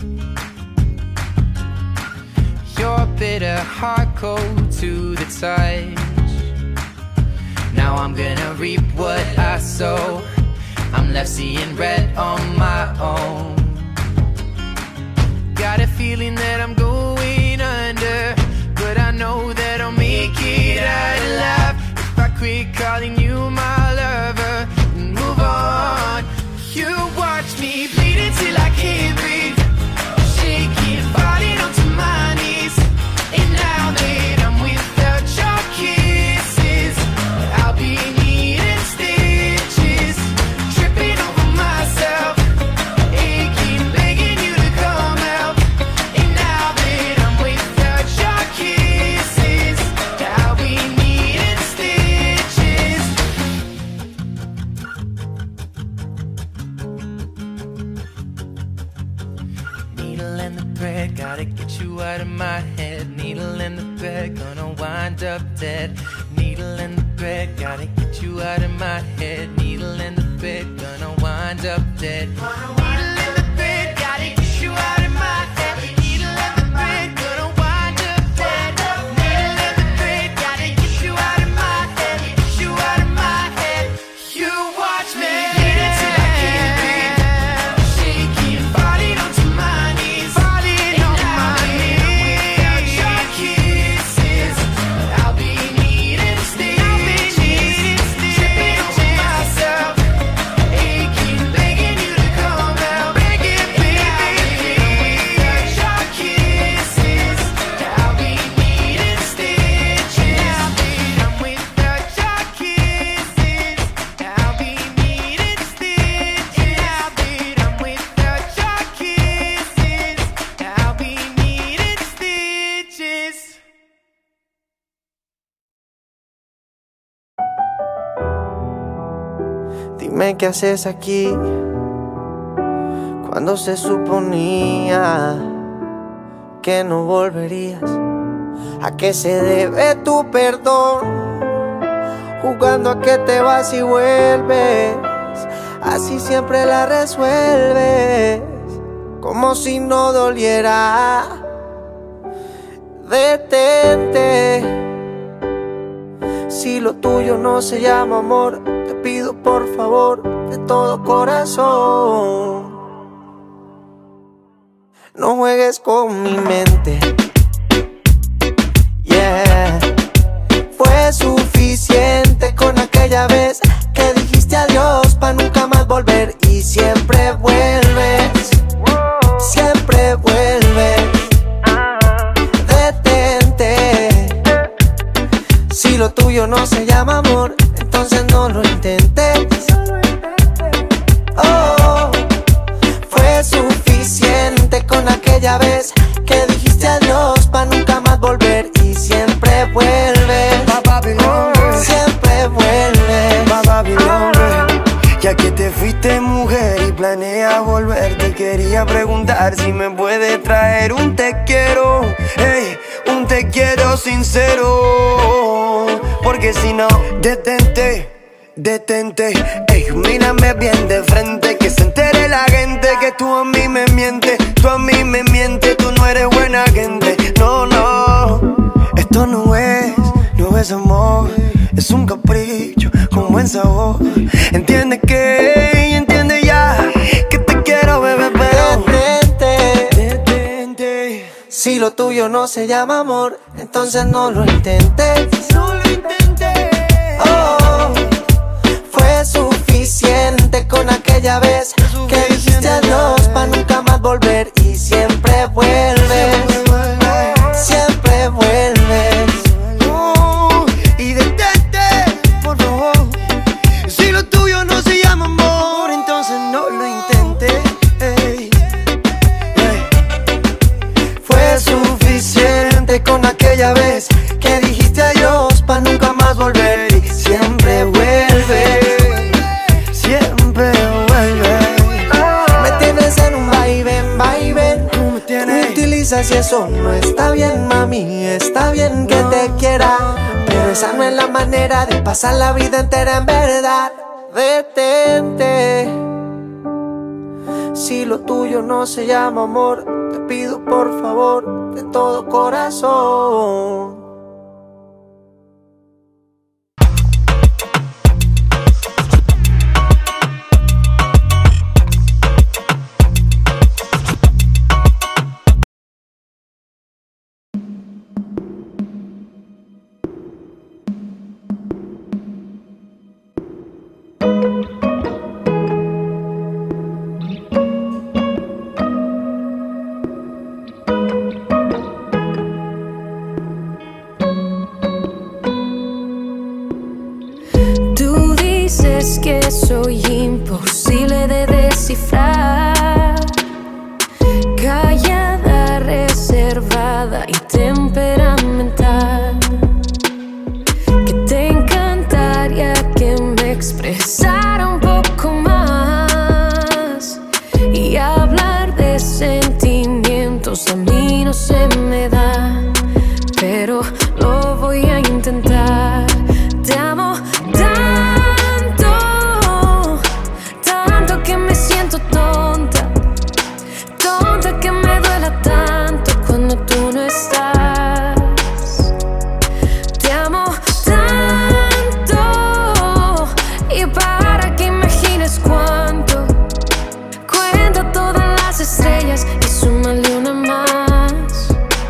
Your bitter heart cold to the touch. Now I'm gonna reap what I sow. I'm left seeing red on my own. Got a feeling that I'm going under, but I know that I'll make it out alive if I quit calling you my lover and move on. You watch me bleed till I can't breathe, shaking, falling onto my knees. And now that I'm without your kisses, I'll be needing stitches, tripping over myself, aching, begging you to come out. And now that I'm without your kisses, I'll be needing stitches. Needle in the thread, gotta get you out of my head. Needle in the thread, gonna wind up dead. Needle in the thread, gotta get you out of my head. Needle in the thread, gonna wind up dead. Needle in the thread, gotta get you out of my head. Needle in the thread, gonna wind up dead. Needle in the thread, gotta get you out of my head. Get you out of my head. You watch me bleed till I can't breathe, shaking, falling onto my knees. Falling on my knees. Without your kisses, I'll be needing stitches, tripping over myself, aching, begging you to come out. Begging, baby. Without your kisses, I'll be needing stitches. Now that I'm without your kisses, I'll be needing stitches. Now that I'm without your kisses, I'll be needing stitches. Dime qué haces aquí cuando se suponía que no volverías. ¿A qué se debe tu perdón? Jugando a que te vas y vuelves, así siempre la resuelves, como si no doliera. Detente, si lo tuyo no se llama amor, te pido por favor de todo corazón, no juegues con mi mente. Yeah, fue suficiente con aquel lo tuyo no se llama amor, entonces no lo intentes. Oh, fue suficiente con aquella vez que dijiste adiós pa' nunca más volver. Y siempre vuelve, siempre vuelve. Ya que te fuiste mujer y planeas volver, te quería preguntar si me puedes traer un te quiero, hey, un te quiero sincero. Porque si no, detente, detente, ey, mírame bien de frente, que se entere la gente que tú a mí me mientes, tú a mí me mientes, tú no eres buena gente. No, no, esto no es, no es amor, es un capricho con buen sabor. Entiende que, entiende ya, que te quiero, bebé, pero detente, detente. Si lo tuyo no se llama amor, entonces no lo intentes. No lo intenté. Oh, fue suficiente con aquella vez que dijiste adiós pa' nunca más volver. Y siempre vuelves, siempre vuelves. Oh, y detente, por favor. Si lo tuyo no se llama amor, entonces no lo intenté. Ey, ey. Fue suficiente con aquella vez que dijiste adiós pa' nunca más volver. Y siempre vuelve, siempre vuelve. Me tienes en un vaivén, vaivén. Me utilizas y eso no está bien, mami. Está bien que te quiera, pero esa no es la manera de pasar la vida entera en verdad. Detente. Si lo tuyo no se llama amor, te pido por favor de todo corazón. Es que soy imposible de descifrar, callada, reservada y temperamental, que te encantaría que me expresara un poco más y hablar de sentimientos a mí no se me da, pero lo voy a intentar. Te amo tanto, tanto que me siento tonta, tonta que me duela tanto cuando tú no estás. Te amo tanto, y para que imagines cuánto, cuenta todas las estrellas y súmale una más.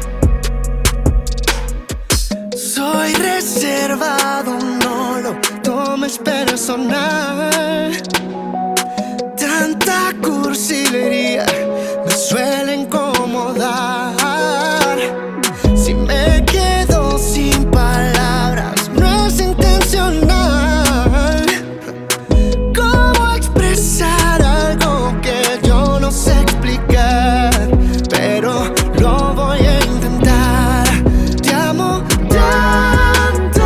Soy reservado, no lo tomes personal. Tanta cursilería me suele incomodar. Si me quedo sin palabras, no es intencional. ¿Cómo expresar algo que yo no sé explicar? Pero lo voy a intentar. Te amo tanto,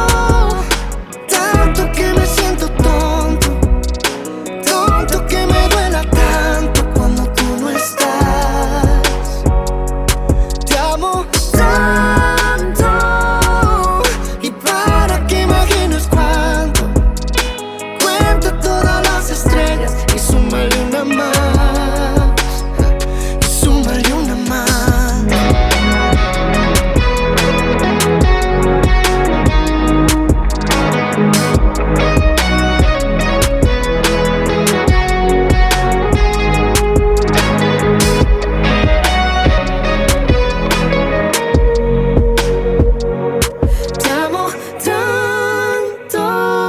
tanto que me siento tonto, tonto que me duela tanto cuando tú no estás. Te amo tanto, y para que imagines cuánto, cuenta todas las estrellas y súmale una más, y súmale una más. Te amo tanto,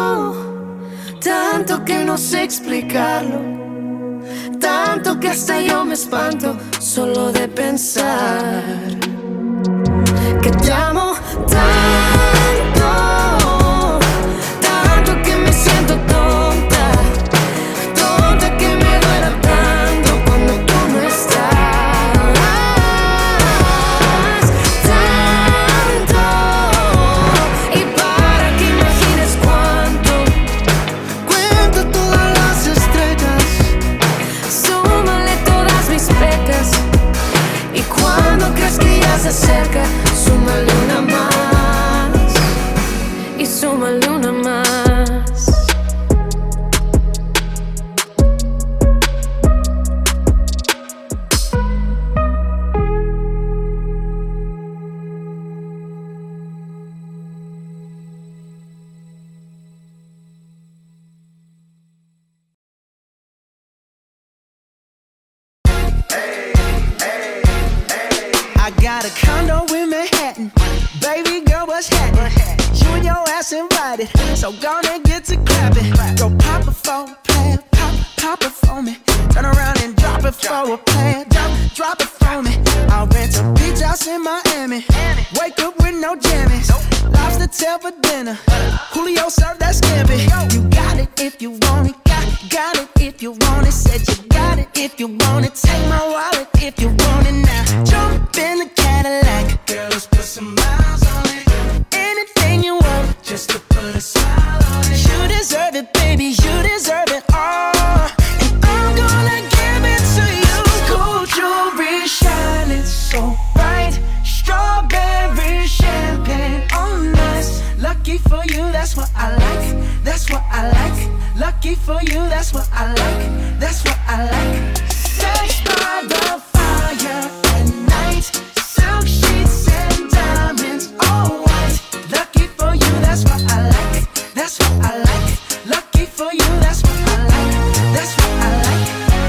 tanto que no sé explicarlo, tanto que hasta yo me espanto solo de pensar que te amo tanto. bush hat. You and your ass invited, so gonna get to clapping. Go pop it for a plan, pop, pop it for me. Turn around and drop it for a plan, drop, drop it for me. I'll rent a beach house in Miami. Wake up with no jammies. Lobster tail for dinner. Julio served that scampi. You got it if you want it. Got, got it if you want it. Said you got it if you want it. Take my wallet if you want it now. Jump in the Cadillac. Girl, let's put some miles on it. Anything you want, just to put a smile on it. You deserve it, baby. You deserve it all. And I'm gonna give it to you. Gold jewelry shining so bright. Strawberry champagne on us. Lucky for you, that's what I like. That's what I like. Lucky for you, that's what I like. That's what I like. Sex by the fire at night. Silk sheets and diamonds, all white. Lucky for you, that's what I like. That's what I like. Lucky for you, that's what I like. That's what I like.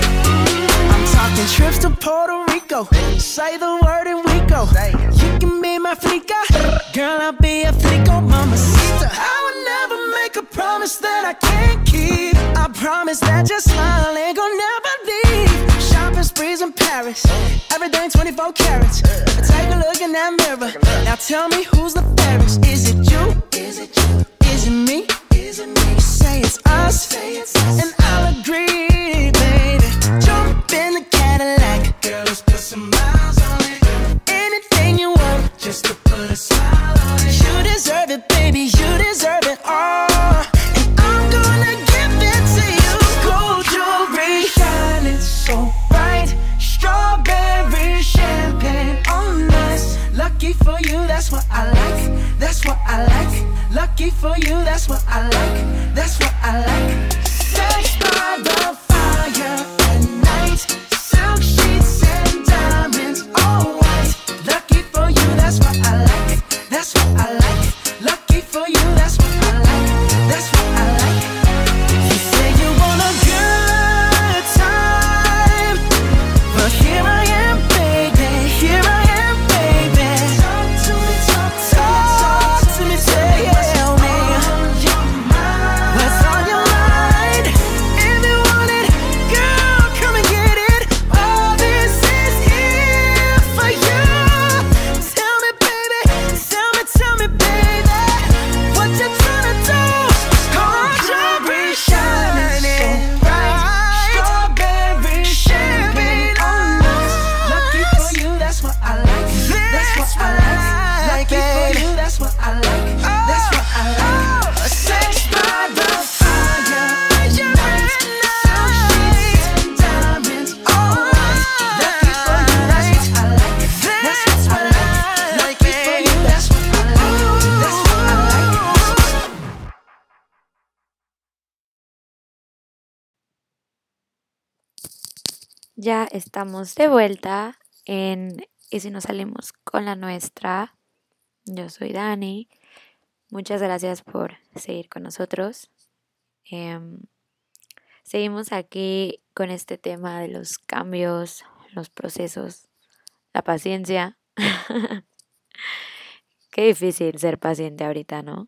I'm talking trips to Puerto Rico. Say the word and we go. You can be my flica. Girl, I'll be a flico, mamacita. I would never make a promise that I can't keep. I promise that your smile ain't gonna never leave. Shopping sprees in Paris. Everything twenty-four carats. Take a look in that mirror. Now tell me who's the fairest. Is it you? Is it you? Is it me? Is it me? Say it's us. Say it's us. And I'll agree, baby. Jump in the Cadillac. Girl, let's put some miles on it. Anything you want, just to put a smile on it. You deserve it, baby. You deserve it all. And I'm gonna give it to you. Gold jewelry shining so bright. Strawberry champagne on us. Lucky for you, that's what I like. That's what I like. Lucky for you, that's what I like. That's what I like. Sex by the fire at night. Silk sheets and diamonds, all white. Lucky for you, that's what I like. That's what I like. Lucky for you, that's what I like. That's what I like. You say you want a good time, but here I am, baby. Here I am, baby. Talk to me, talk to me, talk to me, tell me what's on your mind. If you want it, girl, come and get it. All this is here for you. Tell me, baby, tell me, tell me, baby, what you tryna do? Gold jewelry shining bright. Strawberry champagne on us. Lucky for you, that's what I like. That's what I like. Lucky for you, that's what I like. That's what I like. Sex by the fire at night. Silk sheets and diamonds, all white. Lucky for you, that's what I like. That's what I like. Lucky for you, that's what I like. That's what I like. Ya estamos de vuelta en Y si nos salimos con la nuestra. Yo soy Dani. Muchas gracias por seguir con nosotros. Em, seguimos aquí con este tema de los cambios, los procesos, la paciencia. Qué difícil ser paciente ahorita, ¿no?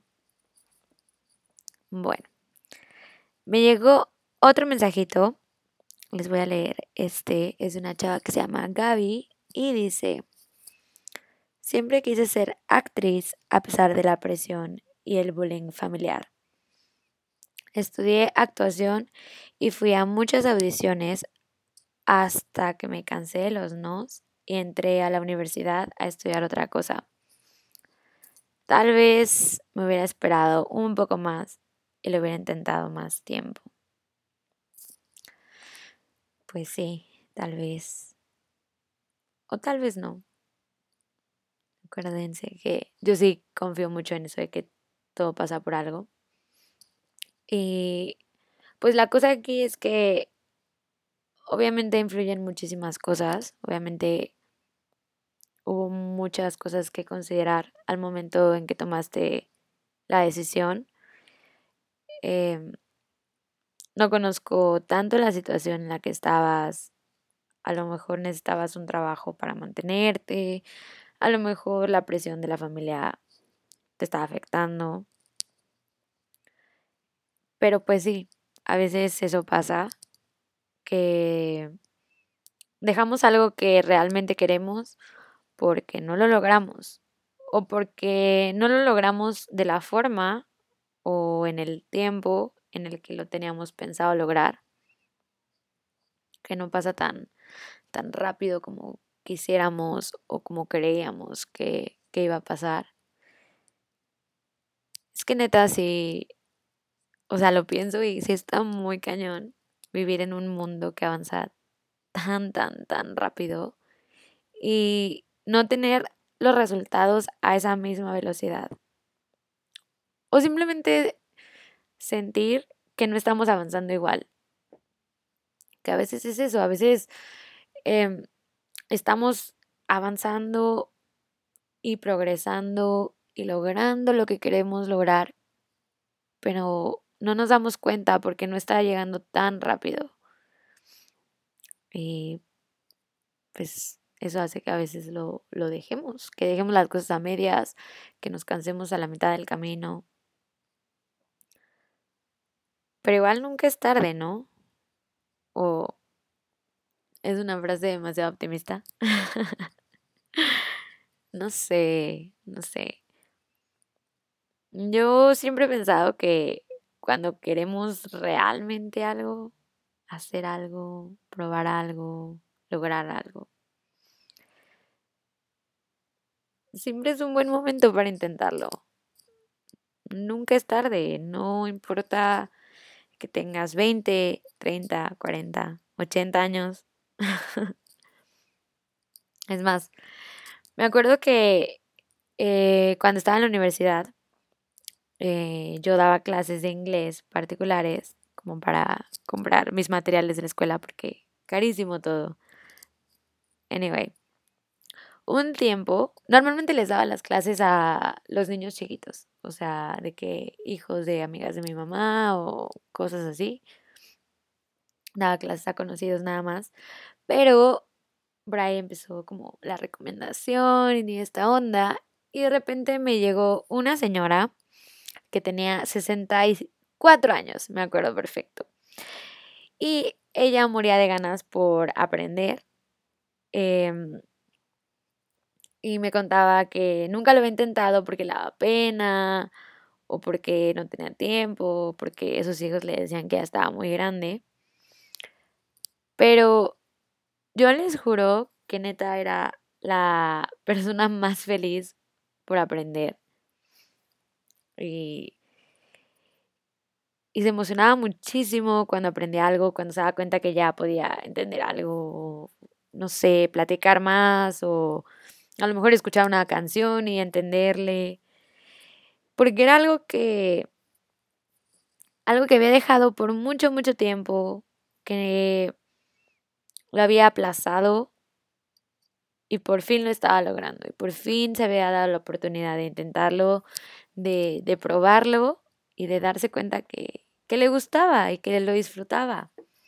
Bueno, me llegó otro mensajito. Les voy a leer. Este es de una chava que se llama Gaby y dice: siempre quise ser actriz a pesar de la presión y el bullying familiar. Estudié actuación y fui a muchas audiciones hasta que me cansé de los nos y entré a la universidad a estudiar otra cosa. Tal vez me hubiera esperado un poco más y lo hubiera intentado más tiempo. Pues sí, tal vez. O tal vez no. Acuérdense que yo sí confío mucho en eso de que todo pasa por algo. Y pues la cosa aquí es que obviamente influyen muchísimas cosas. Obviamente hubo muchas cosas que considerar al momento en que tomaste la decisión. Eh, no conozco tanto la situación en la que estabas. A lo mejor necesitabas un trabajo para mantenerte. A lo mejor la presión de la familia te te está afectando. Pero pues sí, a veces eso pasa, que dejamos algo que realmente queremos porque no lo logramos o porque no lo logramos de la forma o en el tiempo en el que lo teníamos pensado lograr, que no pasa tan, tan rápido como quisiéramos o como creíamos que, que iba a pasar. Es que neta, sí, o sea, lo pienso y sí está muy cañón vivir en un mundo que avanza tan, tan, tan rápido y no tener los resultados a esa misma velocidad. O simplemente sentir que no estamos avanzando igual. Que a veces es eso, a veces em, estamos avanzando y progresando y logrando lo que queremos lograr, pero no nos damos cuenta porque no está llegando tan rápido. Y pues eso hace que a veces lo, lo dejemos, que dejemos las cosas a medias, que nos cansemos a la mitad del camino. Pero igual nunca es tarde, ¿no? O es una frase demasiado optimista. No sé, no sé. Yo siempre he pensado que cuando queremos realmente algo, hacer algo, probar algo, lograr algo, siempre es un buen momento para intentarlo. Nunca es tarde, no importa que tengas veinte, treinta, cuarenta, ochenta años. Es más, me acuerdo que eh, cuando estaba en la universidad, eh, yo daba clases de inglés particulares como para comprar mis materiales de la escuela porque carísimo todo. Anyway, un tiempo, normalmente les daba las clases a los niños chiquitos, o sea, de que hijos de amigas de mi mamá o cosas así. Daba clases a conocidos nada más, pero Brian empezó como la recomendación y esta onda y de repente me llegó una señora que tenía sesenta y cuatro años, me acuerdo perfecto. Y ella moría de ganas por aprender. em, y me contaba que nunca lo había intentado porque le daba pena, o porque no tenía tiempo, o porque esos hijos le decían que ya estaba muy grande. Pero yo les juro que neta era la persona más feliz por aprender. Y Y se emocionaba muchísimo cuando aprendía algo, cuando se daba cuenta que ya podía entender algo, no sé, platicar más o a lo mejor escuchar una canción y entenderle, porque era algo que algo que había dejado por mucho, mucho tiempo, que lo había aplazado y por fin lo estaba logrando y por fin se había dado la oportunidad de intentarlo, de, de probarlo y de darse cuenta que, que le gustaba y que lo disfrutaba.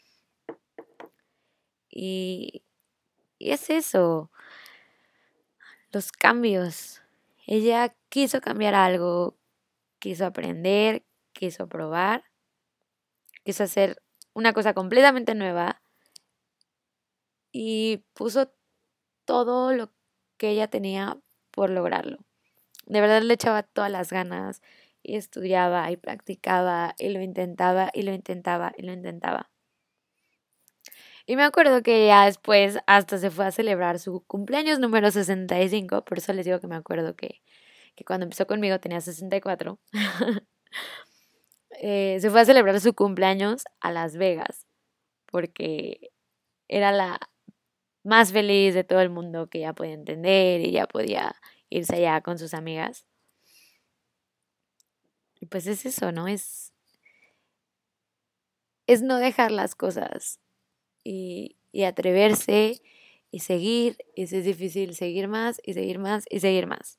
Y, y es eso, los cambios. Ella quiso cambiar algo, quiso aprender, quiso probar, quiso hacer una cosa completamente nueva y puso todo lo que ella tenía por lograrlo. De verdad le echaba todas las ganas y estudiaba y practicaba y lo intentaba y lo intentaba y lo intentaba. Y me acuerdo que ya después hasta se fue a celebrar su cumpleaños número sesenta y cinco, por eso les digo que me acuerdo que, que cuando empezó conmigo tenía sesenta y cuatro. eh, se fue a celebrar su cumpleaños a Las Vegas, porque era la más feliz de todo el mundo, que ya podía entender y ya podía irse allá con sus amigas. Y pues es eso, ¿no? Es, es no dejar las cosas y, y atreverse y seguir. Y si es difícil, seguir más y seguir más y seguir más.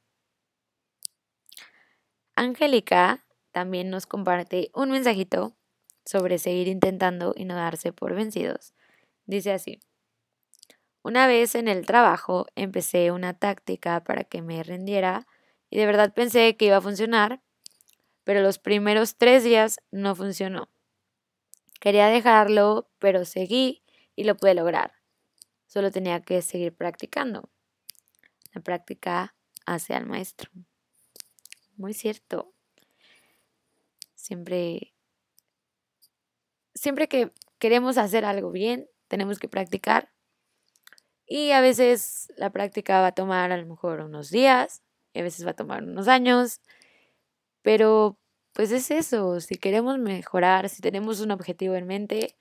Angélica también nos comparte un mensajito sobre seguir intentando y no darse por vencidos. Dice así: una vez en el trabajo empecé una táctica para que me rindiera Y de verdad pensé que iba a funcionar, pero los primeros tres días no funcionó. Quería dejarlo, pero seguí y lo pude lograr. Solo tenía que seguir practicando. La práctica hace al maestro. Muy cierto. Siempre, siempre que queremos hacer algo bien, tenemos que practicar. Y a veces la práctica va a tomar a lo mejor unos días, y a veces va a tomar unos años. Pero pues es eso, si queremos mejorar, si tenemos un objetivo en mente,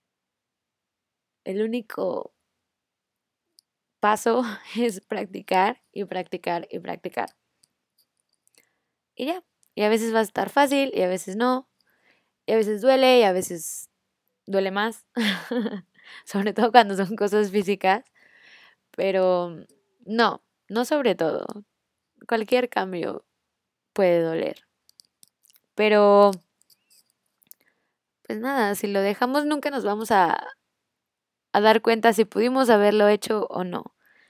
el único paso es practicar y practicar y practicar. Y ya, y a veces va a estar fácil y a veces no, y a veces duele y a veces duele más, sobre todo cuando son cosas físicas, pero no, no sobre todo, cualquier cambio puede doler. Pero, pues nada, si lo dejamos nunca nos vamos a, a dar cuenta si pudimos haberlo hecho o no.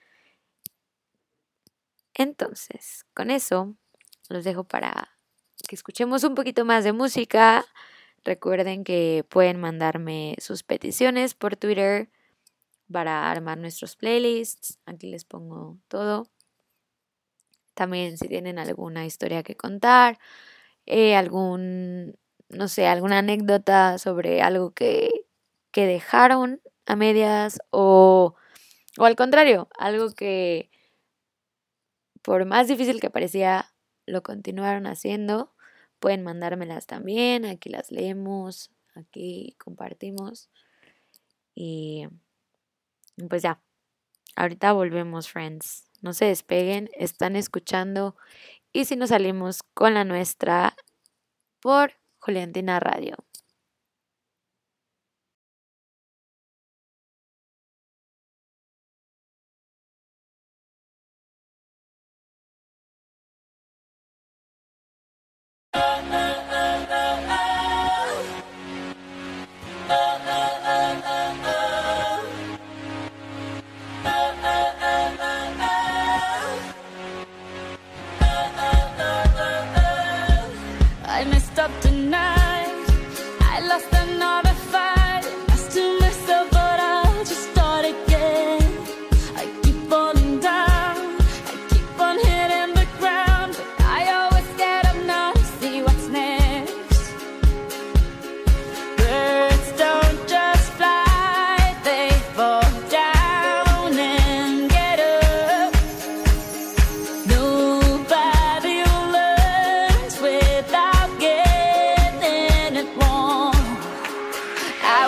Entonces, con eso, los dejo para que escuchemos un poquito más de música. Recuerden que pueden mandarme sus peticiones por Twitter para armar nuestros playlists. Aquí les pongo todo. También si tienen alguna historia que contar. Eh, algún, no sé, alguna anécdota sobre algo que, que dejaron a medias o, o al contrario, algo que por más difícil que parecía lo continuaron haciendo, pueden mandármelas también, aquí las leemos, aquí compartimos y pues ya, ahorita volvemos, friends, no se despeguen, están escuchando Y si nos salimos con la nuestra por Juliantina Radio. I messed up tonight. I lost another fight. I still messed up, but I'll just start again. I keep falling down. I keep on hitting the ground, but I always get up now to see what's next. Birds don't just fly, they fall down and get up. Nobody learns without getting it wrong. I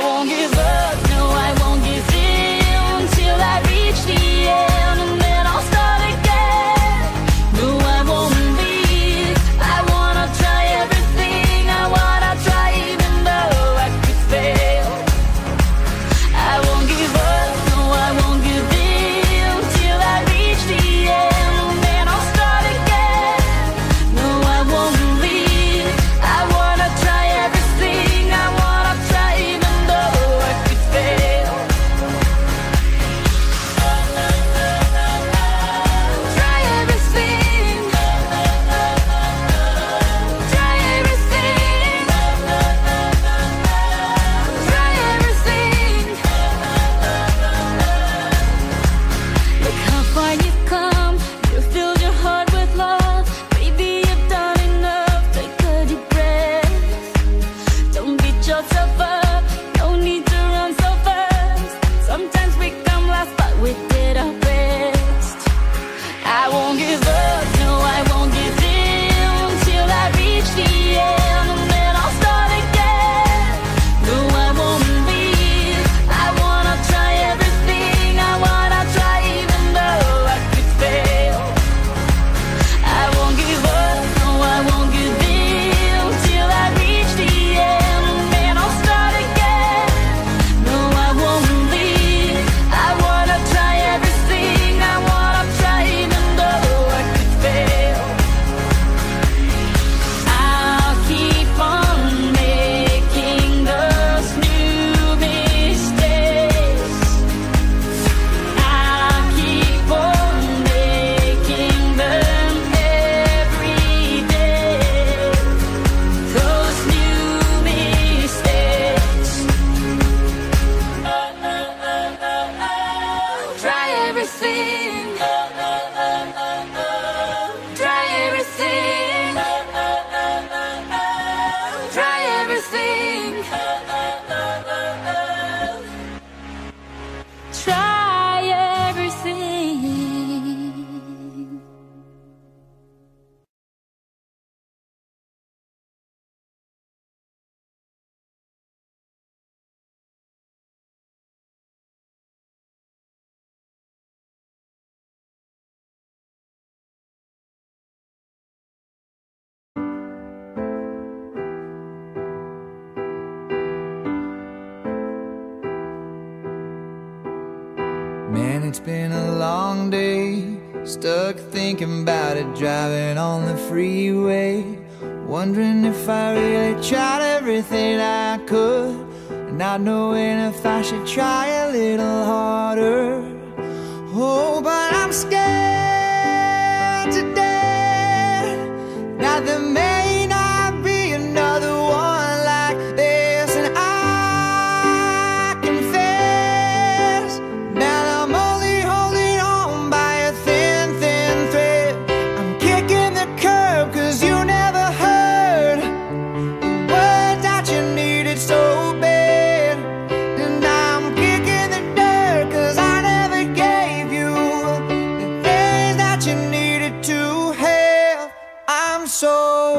it's been a long day, stuck thinking about it, driving on the freeway, wondering if I really tried everything I could, and not knowing if I should try a little harder. Oh, but I'm scared to death that there may not be another one like this, and I confess that I'm only holding on by a thin, thin thread. I'm kicking the curb 'cause you never heard the words that you needed so bad, and I'm kicking the dirt 'cause I never gave you the things that you needed to have. I'm so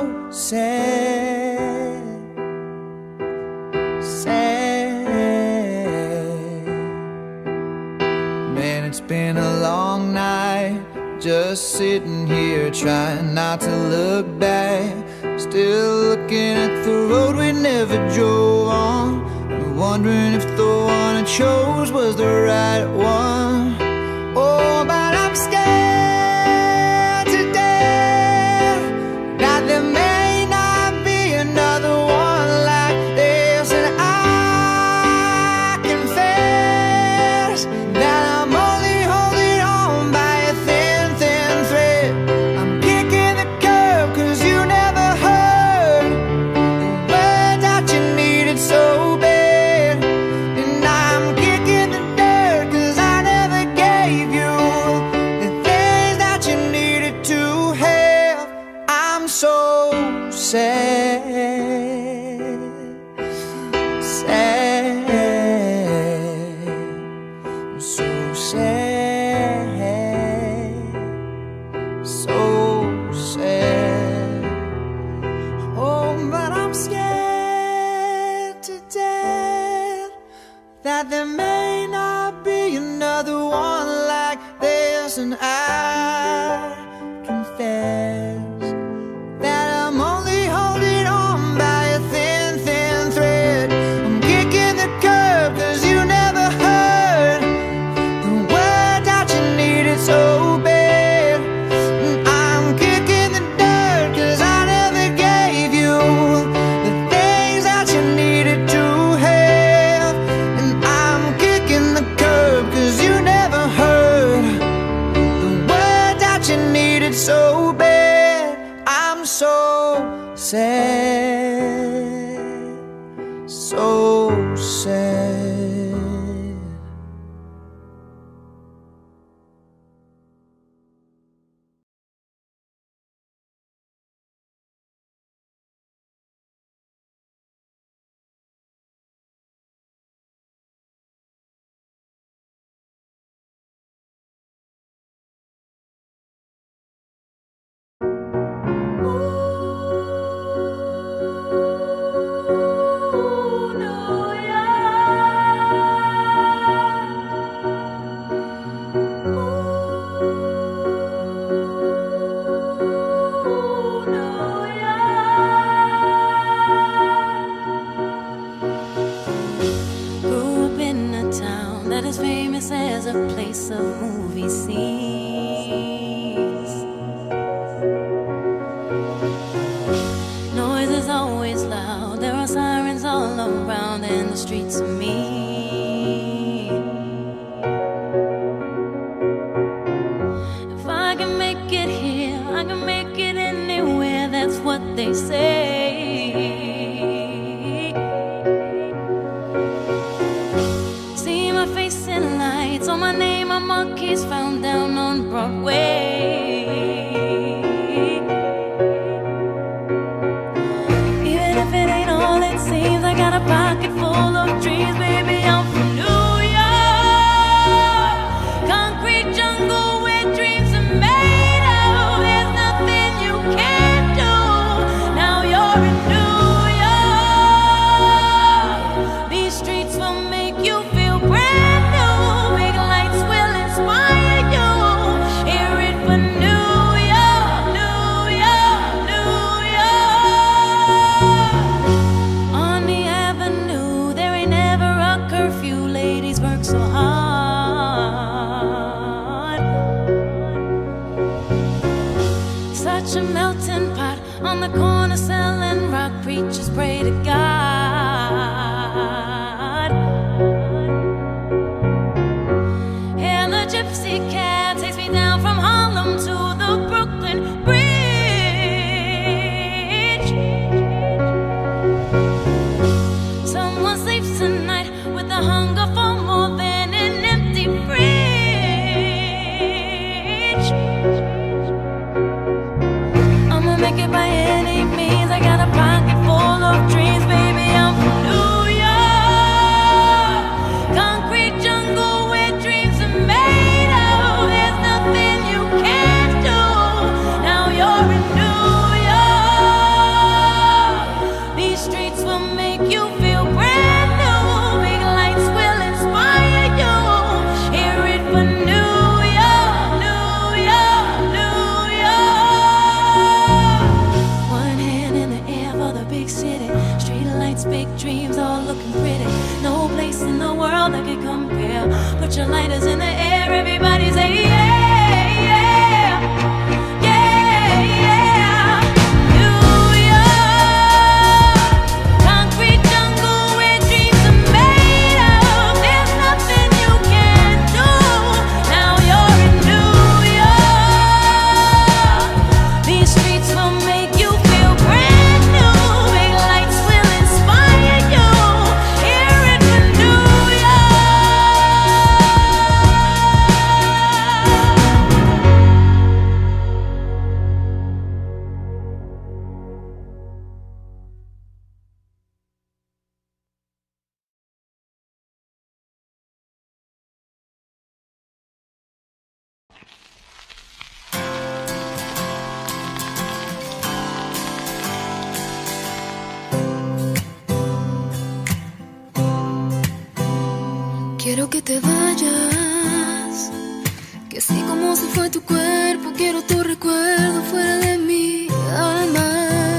sad, sad. Man, it's been a long night, just sitting here trying not to look back, still looking at the road we never drove on, and wondering if the one I chose was the right one. Oh, but I'm scared to death that there may not be another one like this, and I confess that I'm only holding on by a thin, thin thread. I'm kicking the curb 'cause you never heard the words that you needed so bad, and I'm kicking the dirt 'cause I never gave you the things that you needed to have. I'm so sad, sad, so sad, so sad. Oh, but I'm scared to death that there may not be another one like this, and I confess that I'm only holding on by a thin, thin thread. I'm kicking the curb 'cause you never heard the words that you needed so bad, and I'm kicking the dirt 'cause I never gave you the things that you needed to have, and I'm kicking the curb 'cause you never heard the words that you needed so bad. I'm so sad, so sad. Grew up in a town that is famous as a place of movie scenes. Noise is always loud, there are sirens all around, and the streets are mean. If I can make it here, I can make it anywhere, that's what they say. See my face in lights, on my name a monkey's found down on Broadway. Even if it ain't all it seems, I got a pocket full of dreams, baby, I'm from New York. Concrete jungle where dreams are made of, there's nothing you can't do. Now you're in New York. These streets will make you feel brand new. Big lights will inspire you. Hear it for New York, New York, New York. On the avenue on the corner selling rock, preachers pray to God. And the gypsy cab takes me down from Harlem to the Brooklyn Bridge. Someone sleeps tonight with a hunger for more than an empty fridge. I'ma make it by any means. I got a pocket full of dreams, baby. I'm from New York, concrete jungle where dreams are made of. There's nothing you can't do. Now you're in New York. These streets will make you feel brand new. Big lights will inspire you. Hear it for New York, New York, New York. One hand in the air for the big city. Street lights, big dreams, all looking pretty. No place in the world that could compare. Put your lighters in the air, everybody say yeah, yeah, yeah, yeah. New York, concrete jungle where dreams are made of. There's nothing you can't do. Now you're in New York. These streets will make you feel brand new. Big lights will inspire you. Hear it for New Quiero que te vayas, que así como se fue tu cuerpo, quiero tu recuerdo fuera de mi alma.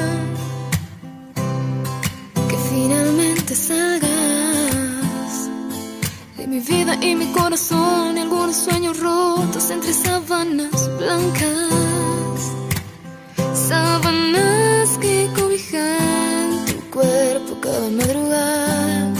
Que finalmente salgas de mi vida y mi corazón, y algunos sueños rotos entre sábanas blancas. Sábanas que cobijan tu cuerpo cada madrugada.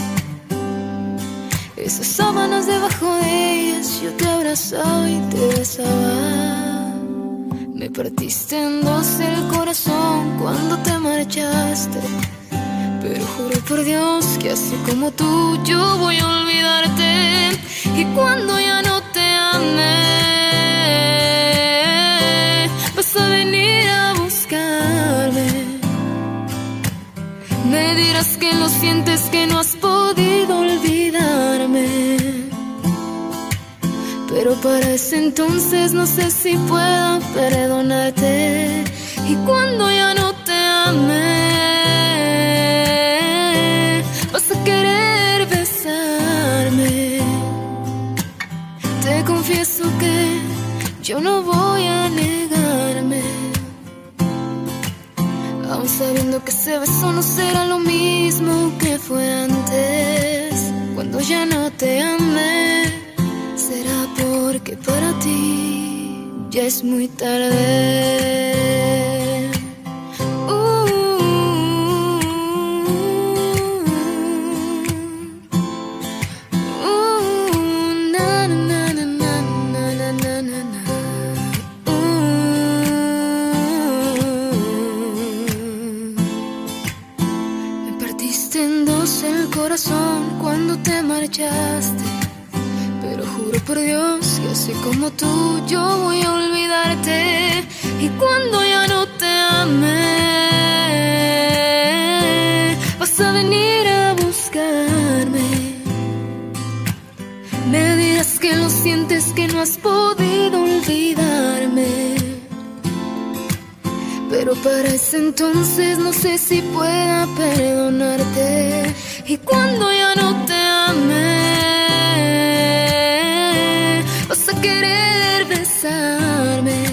Esas sábanas, debajo de ellas yo te abrazaba y te besaba. Me partiste en dos el corazón cuando te marchaste, pero juro por Dios que así como tú yo voy a olvidarte. Y cuando ya no te ame, vas a venir a buscarme. Me dirás que lo sientes, que no has podido olvidarme. Pero para ese entonces no sé si pueda perdonarte. Y cuando ya no te ame, vas a querer besarme. Te confieso que yo no voy a negarme, aún sabiendo que ese beso no será lo mismo que fue antes. Cuando ya no te amé, será porque para ti ya es muy tarde. Uh, uh, na, na, na, na, na, na, na, na. El corazón cuando te marchaste, pero juro por Dios que así como tú yo voy a olvidarte. Y cuando ya no te ame, vas a venir a buscarme. Me dirás que lo sientes, que no has podido olvidarme. Pero para ese entonces no sé si pueda perdonarte. Y cuando ya no te ame, vas a querer besarme.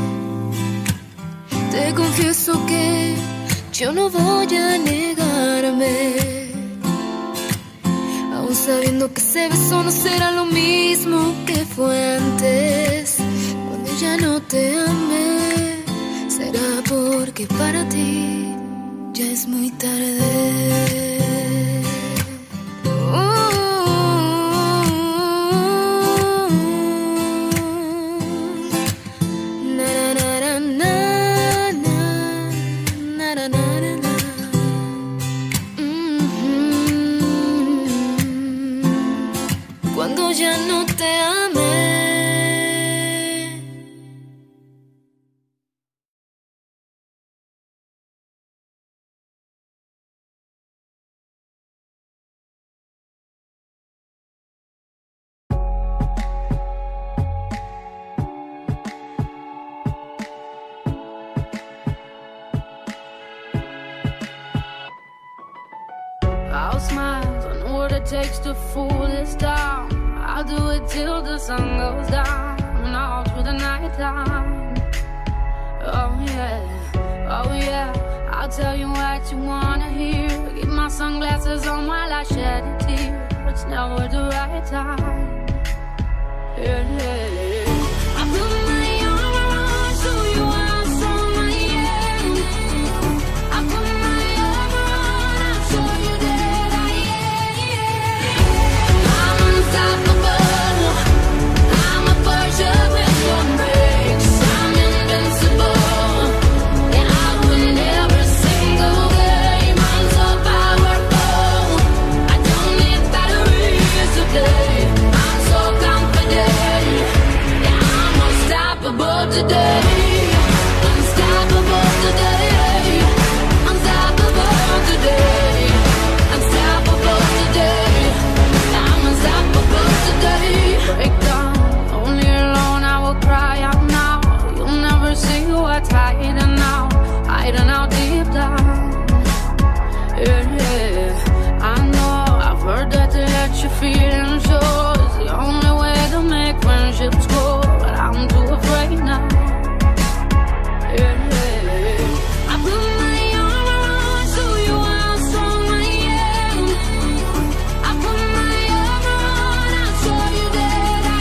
Te confieso que yo no voy a negarme, aún sabiendo que ese beso no será lo mismo que fue antes. Cuando ya no te amé, será Anda porque para ti ya es muy tarde. Cuando ya no te amé. I'll smile, I know what it takes to fool this town. I'll do it till the sun goes down and all through the night time. Oh yeah, oh yeah, I'll tell you what you wanna hear. Keep my sunglasses on while I shed a tear. It's never the right time. Yeah, yeah, yeah. I put my arm around, show you how strong I am. I put my arm around, I'll show you that I am. I'm unstoppable. I'm a Porsche with one brakes. I'm invincible. Yeah, I win every single game. I'm so powerful. I don't need batteries to play. I'm so confident. Yeah, I'm unstoppable today. Unstoppable today. Unstoppable today. Unstoppable today. I'm unstoppable today. Break down, only alone I will cry out now. You'll never see what's hiding now, hiding out deep down. Yeah, yeah. I know I've heard that to let you feel and show is the only way to make friendships grow, but I'm too afraid now. Yeah, yeah. I put my arm around, show you how strong I am. I put my arm around, I'll show you that I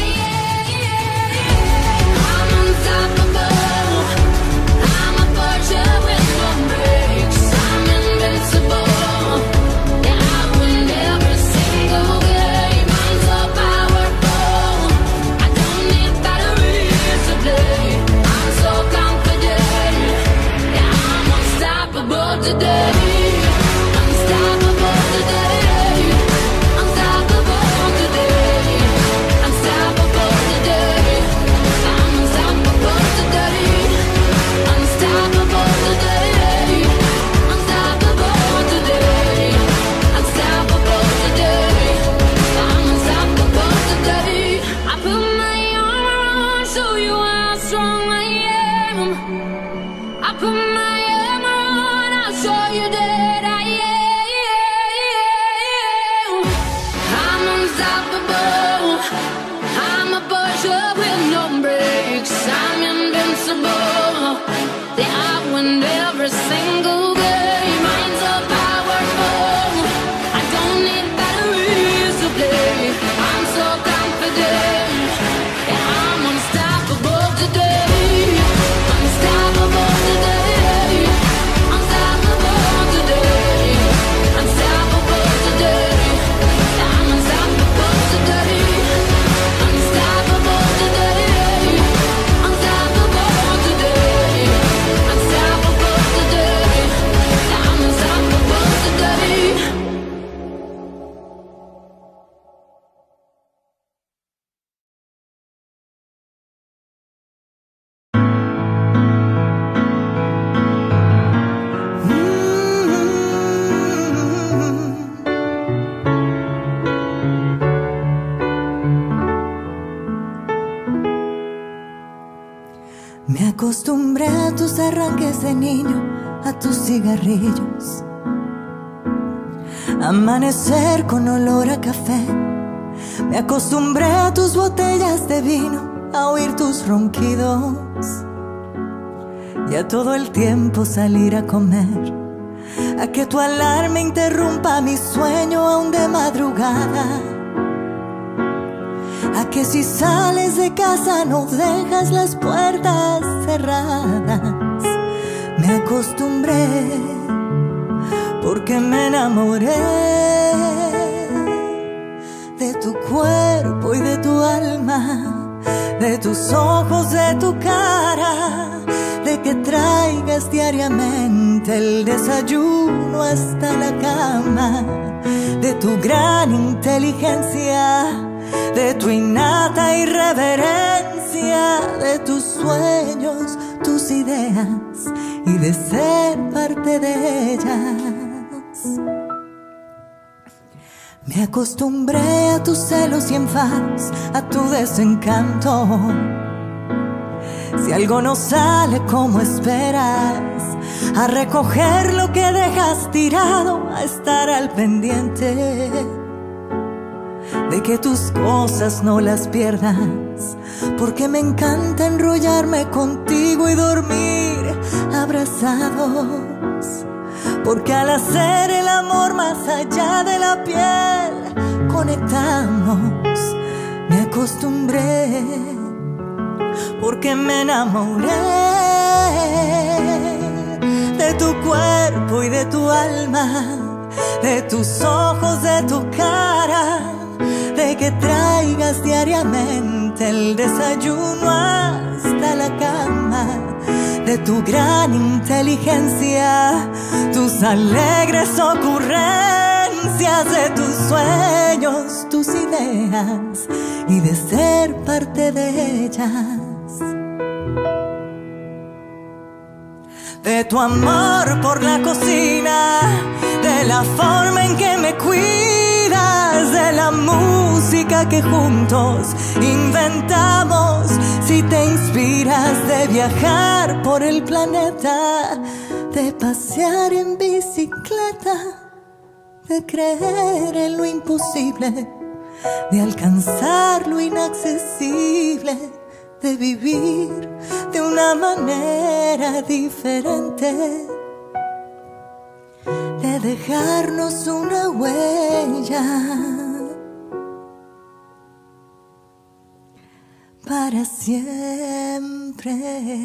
am. I'm unstoppable. I'm a Porsche with no brakes. I'm invincible. Yeah, I win every single game. I'm so powerful. I don't need batteries to play. I'm so confident. Yeah, I'm unstoppable today. Unstoppable today. Unstoppable today. Unstoppable today. I'm unstoppable today. Unstoppable today. Unstoppable today. Unstoppable today. I'm unstoppable today. I put my arm around, show you how strong I am. I put my arm around, I'll show you that I am. I'm unstoppable. I'm a Porsche with no brakes. I'm invincible. Yeah, I win every single game. I'm so powerful. I don't need batteries to play. I'm so confident. Yeah, I'm unstoppable today. Unstoppable today. Unstoppable today. Unstoppable today. I'm unstoppable today. Unstoppable today. Unstoppable today. Unstoppable today. I'm unstoppable today. Me acostumbré a tus arranques de niño, a tus cigarrillos, amanecer con olor a café. Me acostumbré a tus botellas de vino, a oír tus ronquidos y a todo el tiempo salir a comer, a que tu alarma interrumpa mi sueño aún de madrugada, a que si sales de casa no dejas las puertas cerradas. Me acostumbré porque me enamoré de tu cuerpo y de tu alma, de tus ojos, de tu cara, de que traigas diariamente el desayuno hasta la cama, de tu gran inteligencia, de tu innata irreverencia, de tus sueños, tus ideas y de ser parte de ellas. Me acostumbré a tus celos y enfados, a tu desencanto. Si algo no sale como esperas, a recoger lo que dejas tirado, a estar al pendiente de que tus cosas no las pierdas, porque me encanta enrollarme contigo y dormir abrazados, porque al hacer el amor más allá de la piel conectamos. Me acostumbré porque me enamoré de tu cuerpo y de tu alma, de tus ojos, de tu cara, de que traigas diariamente el desayuno hasta la cama, de tu gran inteligencia, tus alegres ocurrencias, de tus sueños, tus ideas y de ser parte de ellas. De tu amor por la cocina, de la forma en que me cuidas, de la música que juntos inventamos. Si te inspiras de viajar por el planeta, de pasear en bicicleta, de creer en lo imposible, de alcanzar lo inaccesible, de vivir de una manera diferente, de dejarnos una huella para siempre.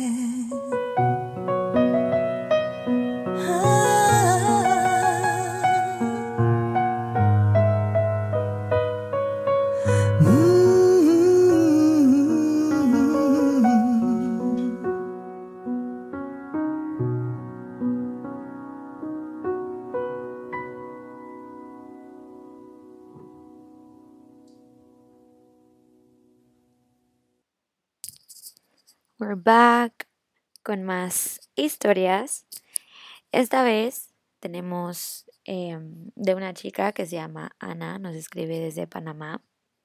We're back con más historias. Esta vez tenemos eh, de una chica que se llama Ana, nos escribe desde Panamá.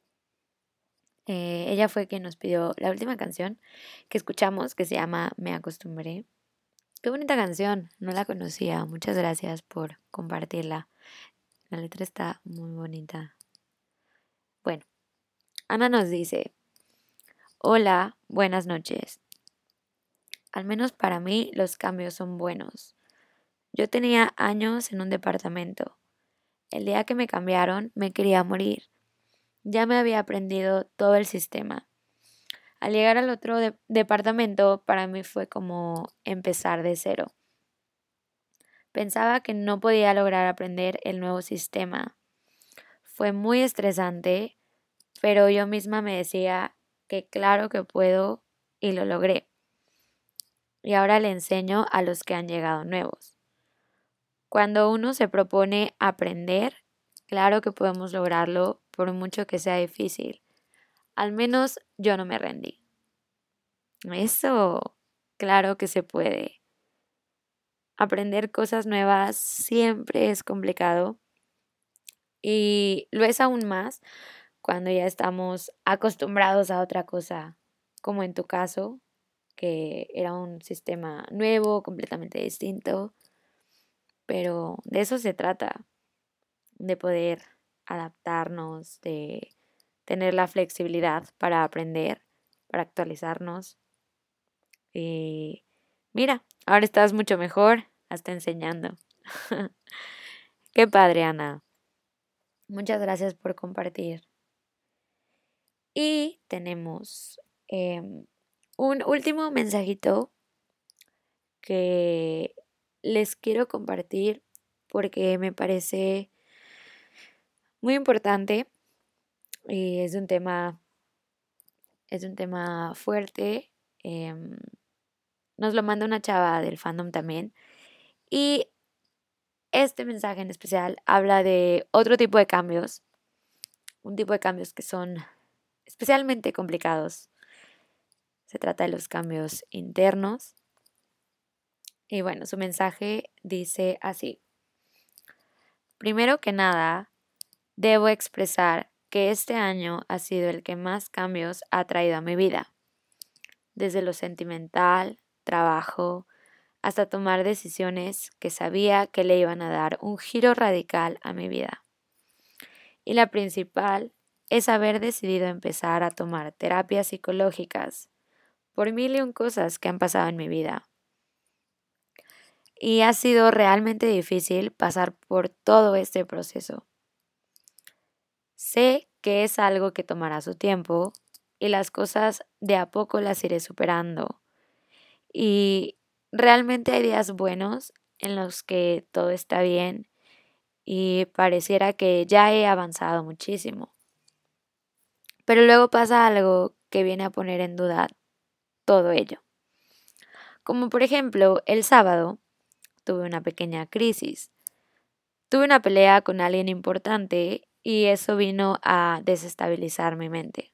Eh, ella fue quien nos pidió la última canción que escuchamos, que se llama Me Acostumbré. Qué bonita canción, no la conocía. Muchas gracias por compartirla. La letra está muy bonita. Bueno, Ana nos dice: hola, buenas noches. Al menos para mí los cambios son buenos. Yo tenía años en un departamento. El día que me cambiaron me quería morir. Ya me había aprendido todo el sistema. Al llegar al otro de- departamento para mí fue como empezar de cero. Pensaba que no podía lograr aprender el nuevo sistema. Fue muy estresante, pero yo misma me decía que claro que puedo y lo logré. Y ahora le enseño a los que han llegado nuevos. Cuando uno se propone aprender, claro que podemos lograrlo por mucho que sea difícil. Al menos yo no me rendí. Eso, claro que se puede. Aprender cosas nuevas siempre es complicado y lo es aún más cuando ya estamos acostumbrados a otra cosa, como en tu caso, que era un sistema nuevo, completamente distinto, pero de eso se trata, de poder adaptarnos, de tener la flexibilidad para aprender, para actualizarnos. Y mira, ahora estás mucho mejor, hasta enseñando. Qué padre, Ana. Muchas gracias por compartir. Y tenemos eh, un último mensajito que les quiero compartir porque me parece muy importante y es un tema, es un tema fuerte. em, nos lo manda una chava del fandom también. Y este mensaje en especial habla de otro tipo de cambios, un tipo de cambios que son especialmente complicados. Se trata de los cambios internos. Y bueno, su mensaje dice así. Primero que nada, debo expresar que este año ha sido el que más cambios ha traído a mi vida. Desde lo sentimental, trabajo, hasta tomar decisiones que sabía que le iban a dar un giro radical a mi vida. Y la principal es haber decidido empezar a tomar terapias psicológicas por mil y un cosas que han pasado en mi vida. Y ha sido realmente difícil pasar por todo este proceso. Sé que es algo que tomará su tiempo y las cosas de a poco las iré superando. Y realmente hay días buenos en los que todo está bien y pareciera que ya he avanzado muchísimo. Pero luego pasa algo que viene a poner en duda todo ello. Como por ejemplo, el sábado tuve una pequeña crisis. Tuve una pelea con alguien importante y eso vino a desestabilizar mi mente.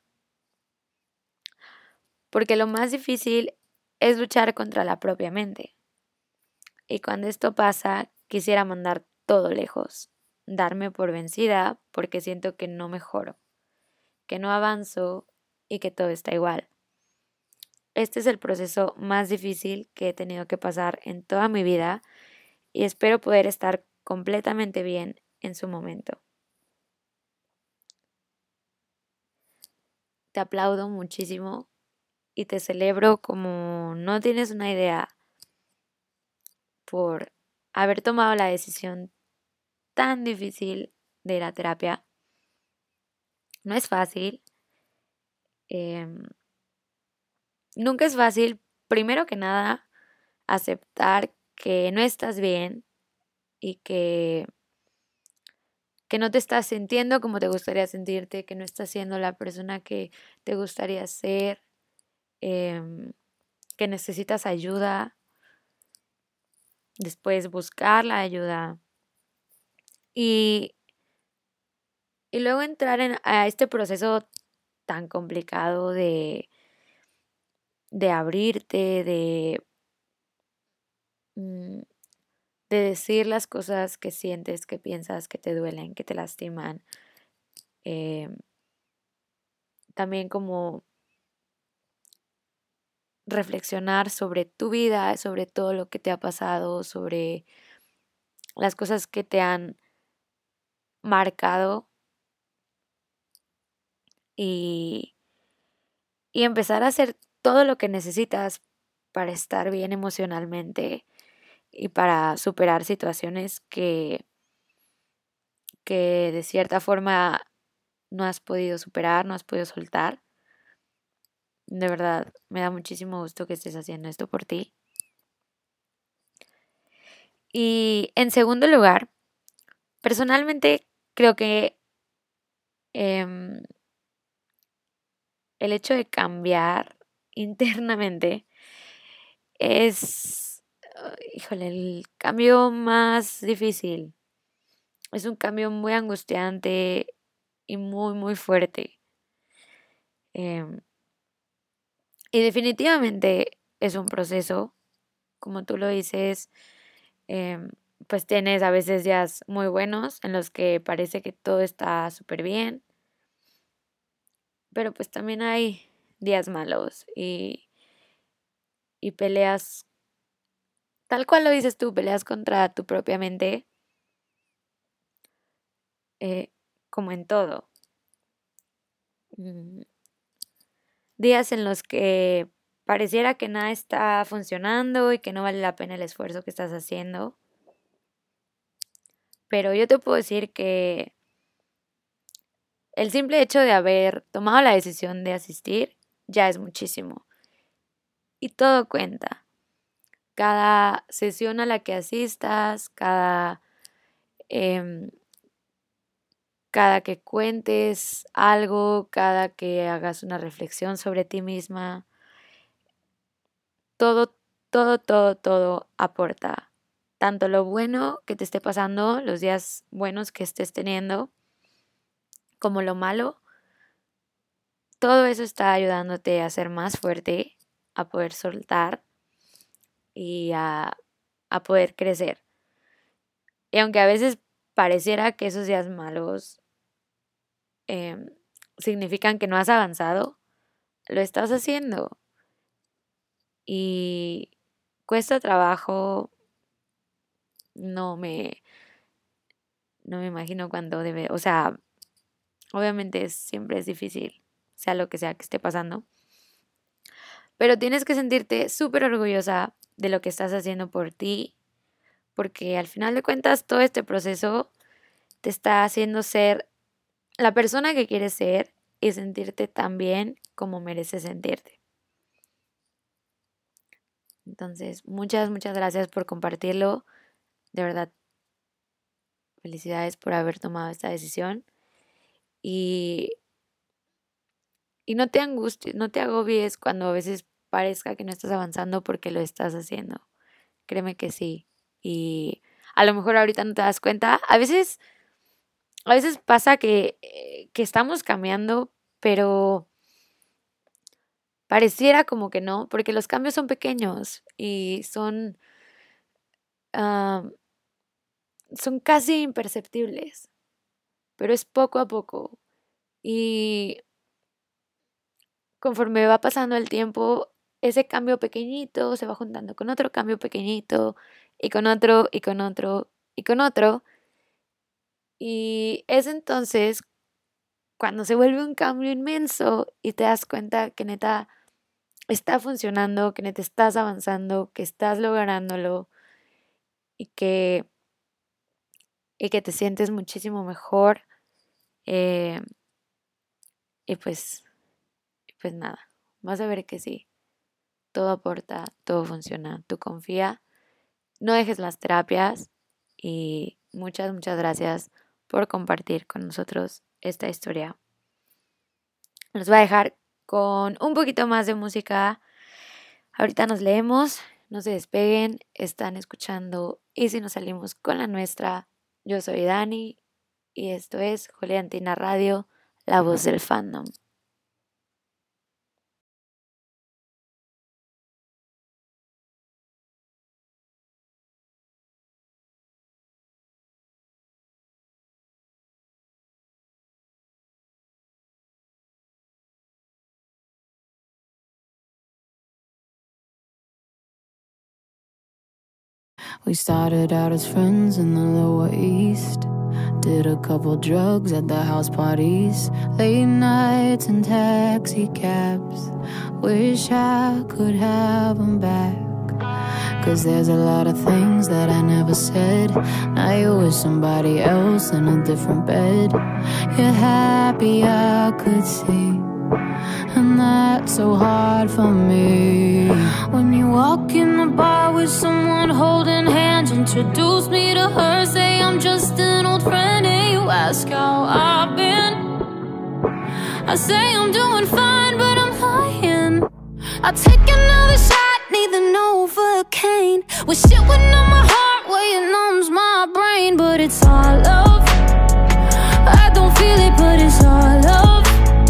Porque lo más difícil es luchar contra la propia mente. Y cuando esto pasa, quisiera mandar todo lejos, darme por vencida porque siento que no mejoro, que no avanzo y que todo está igual. Este es el proceso más difícil que he tenido que pasar en toda mi vida y espero poder estar completamente bien en su momento. Te aplaudo muchísimo y te celebro como no tienes una idea por haber tomado la decisión tan difícil de la terapia. No es fácil. Eh, nunca es fácil, primero que nada, aceptar que no estás bien y que, que no te estás sintiendo como te gustaría sentirte, que no estás siendo la persona que te gustaría ser, eh, que necesitas ayuda. Después buscar la ayuda. Y, y luego entrar en, a este proceso tan complicado de, de abrirte, de, mm, de decir las cosas que sientes, que piensas, que te duelen, que te lastiman. Eh, también como reflexionar sobre tu vida, sobre todo lo que te ha pasado, sobre las cosas que te han marcado y, y empezar a hacer todo lo que necesitas para estar bien emocionalmente y para superar situaciones que, que de cierta forma no has podido superar, no has podido soltar. De verdad, me da muchísimo gusto que estés haciendo esto por ti. Y en segundo lugar, personalmente creo que em, el hecho de cambiar internamente es, uh, híjole, el cambio más difícil. Es un cambio muy angustiante y muy, muy fuerte. Em, y definitivamente es un proceso, como tú lo dices, em, pues tienes a veces días muy buenos en los que parece que todo está súper bien, pero pues también hay días malos y, y peleas, tal cual lo dices tú, peleas contra tu propia mente, eh, como en todo. Mm, Días en los que pareciera que nada está funcionando y que no vale la pena el esfuerzo que estás haciendo. Pero yo te puedo decir que el simple hecho de haber tomado la decisión de asistir ya es muchísimo. Y todo cuenta. cada sesión a la que asistas, cada, em, cada que cuentes algo, cada que hagas una reflexión sobre ti misma, todo, todo, todo, todo aporta. Tanto lo bueno que te esté pasando, los días buenos que estés teniendo, como lo malo, todo eso está ayudándote a ser más fuerte, a poder soltar y a, a poder crecer. Y aunque a veces pareciera que esos días malos eh, significan que no has avanzado, lo estás haciendo. Y cuesta trabajo, no me, no me imagino cuándo debe, o sea, obviamente es, siempre es difícil, sea lo que sea que esté pasando. Pero tienes que sentirte súper orgullosa de lo que estás haciendo por ti, porque al final de cuentas todo este proceso te está haciendo ser la persona que quieres ser y sentirte tan bien como mereces sentirte. Entonces, muchas, muchas gracias por compartirlo. De verdad, felicidades por haber tomado esta decisión. Y, y no te angusties, no te agobies cuando a veces parezca que no estás avanzando porque lo estás haciendo. Créeme que sí. Y a lo mejor ahorita no te das cuenta. A veces, a veces pasa que, que estamos cambiando, pero pareciera como que no, porque los cambios son pequeños y son, uh, son casi imperceptibles, pero es poco a poco. Y conforme va pasando el tiempo, ese cambio pequeñito se va juntando con otro cambio pequeñito y con otro y con otro y con otro. Y es entonces cuando se vuelve un cambio inmenso y te das cuenta que neta está funcionando, que neta estás avanzando, que estás lográndolo y que, y que te sientes muchísimo mejor. Eh, y pues, pues nada, vas a ver que sí. Todo aporta, todo funciona. Tú confía, no dejes las terapias y muchas, muchas gracias por compartir con nosotros esta historia. Los voy a dejar con un poquito más de música. Ahorita nos leemos, no se despeguen, están escuchando Y si nos salimos con la nuestra. Yo soy Dani y esto es Juliantina Radio, la voz del fandom. We started out as friends in the Lower East. Did a couple drugs at the house parties. Late nights and taxi cabs. Wish I could have them back. Cause there's a lot of things that I never said. Now you're with somebody else in a different bed. You're happy, I could see. And that's so hard for me. When you walk in the bar with someone holding hands, introduce me to her, say I'm just an old friend, and you ask how I've been. I say I'm doing fine, but I'm lying. I'll take another shot, need the Novocaine. With shit within my heart where it numbs my brain. But it's all love, I don't feel it, but it's all love.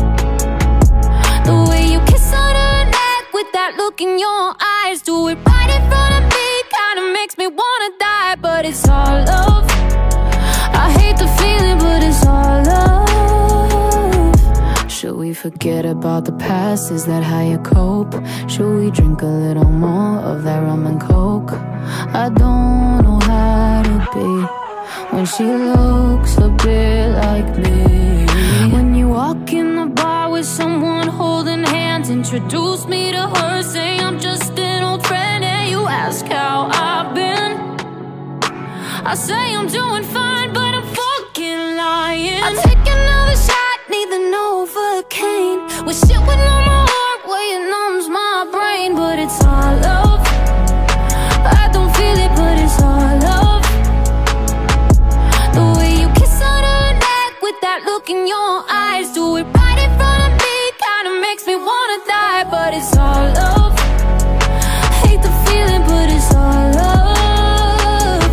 The way you kiss on her neck with that look in your eyes, do it right in front of me, kinda makes me wanna die. But it's all love, I hate the feeling, but it's all love. Should we forget about the past, is that how you cope? Should we drink a little more of that rum and coke? I don't know how to be when she looks a bit like me. When you walk in the bar with someone holding hands, introduce me to her, say I'm just an old friend, and you ask how I've been. I say I'm doing fine, but I'm fucking lying. I'll take another shot, need the Novocaine. With shit within my heart where it numbs my brain. But it's all love, look in your eyes. Do it right in front of me, kinda makes me wanna die. But it's all love. Hate the feeling, but it's all love.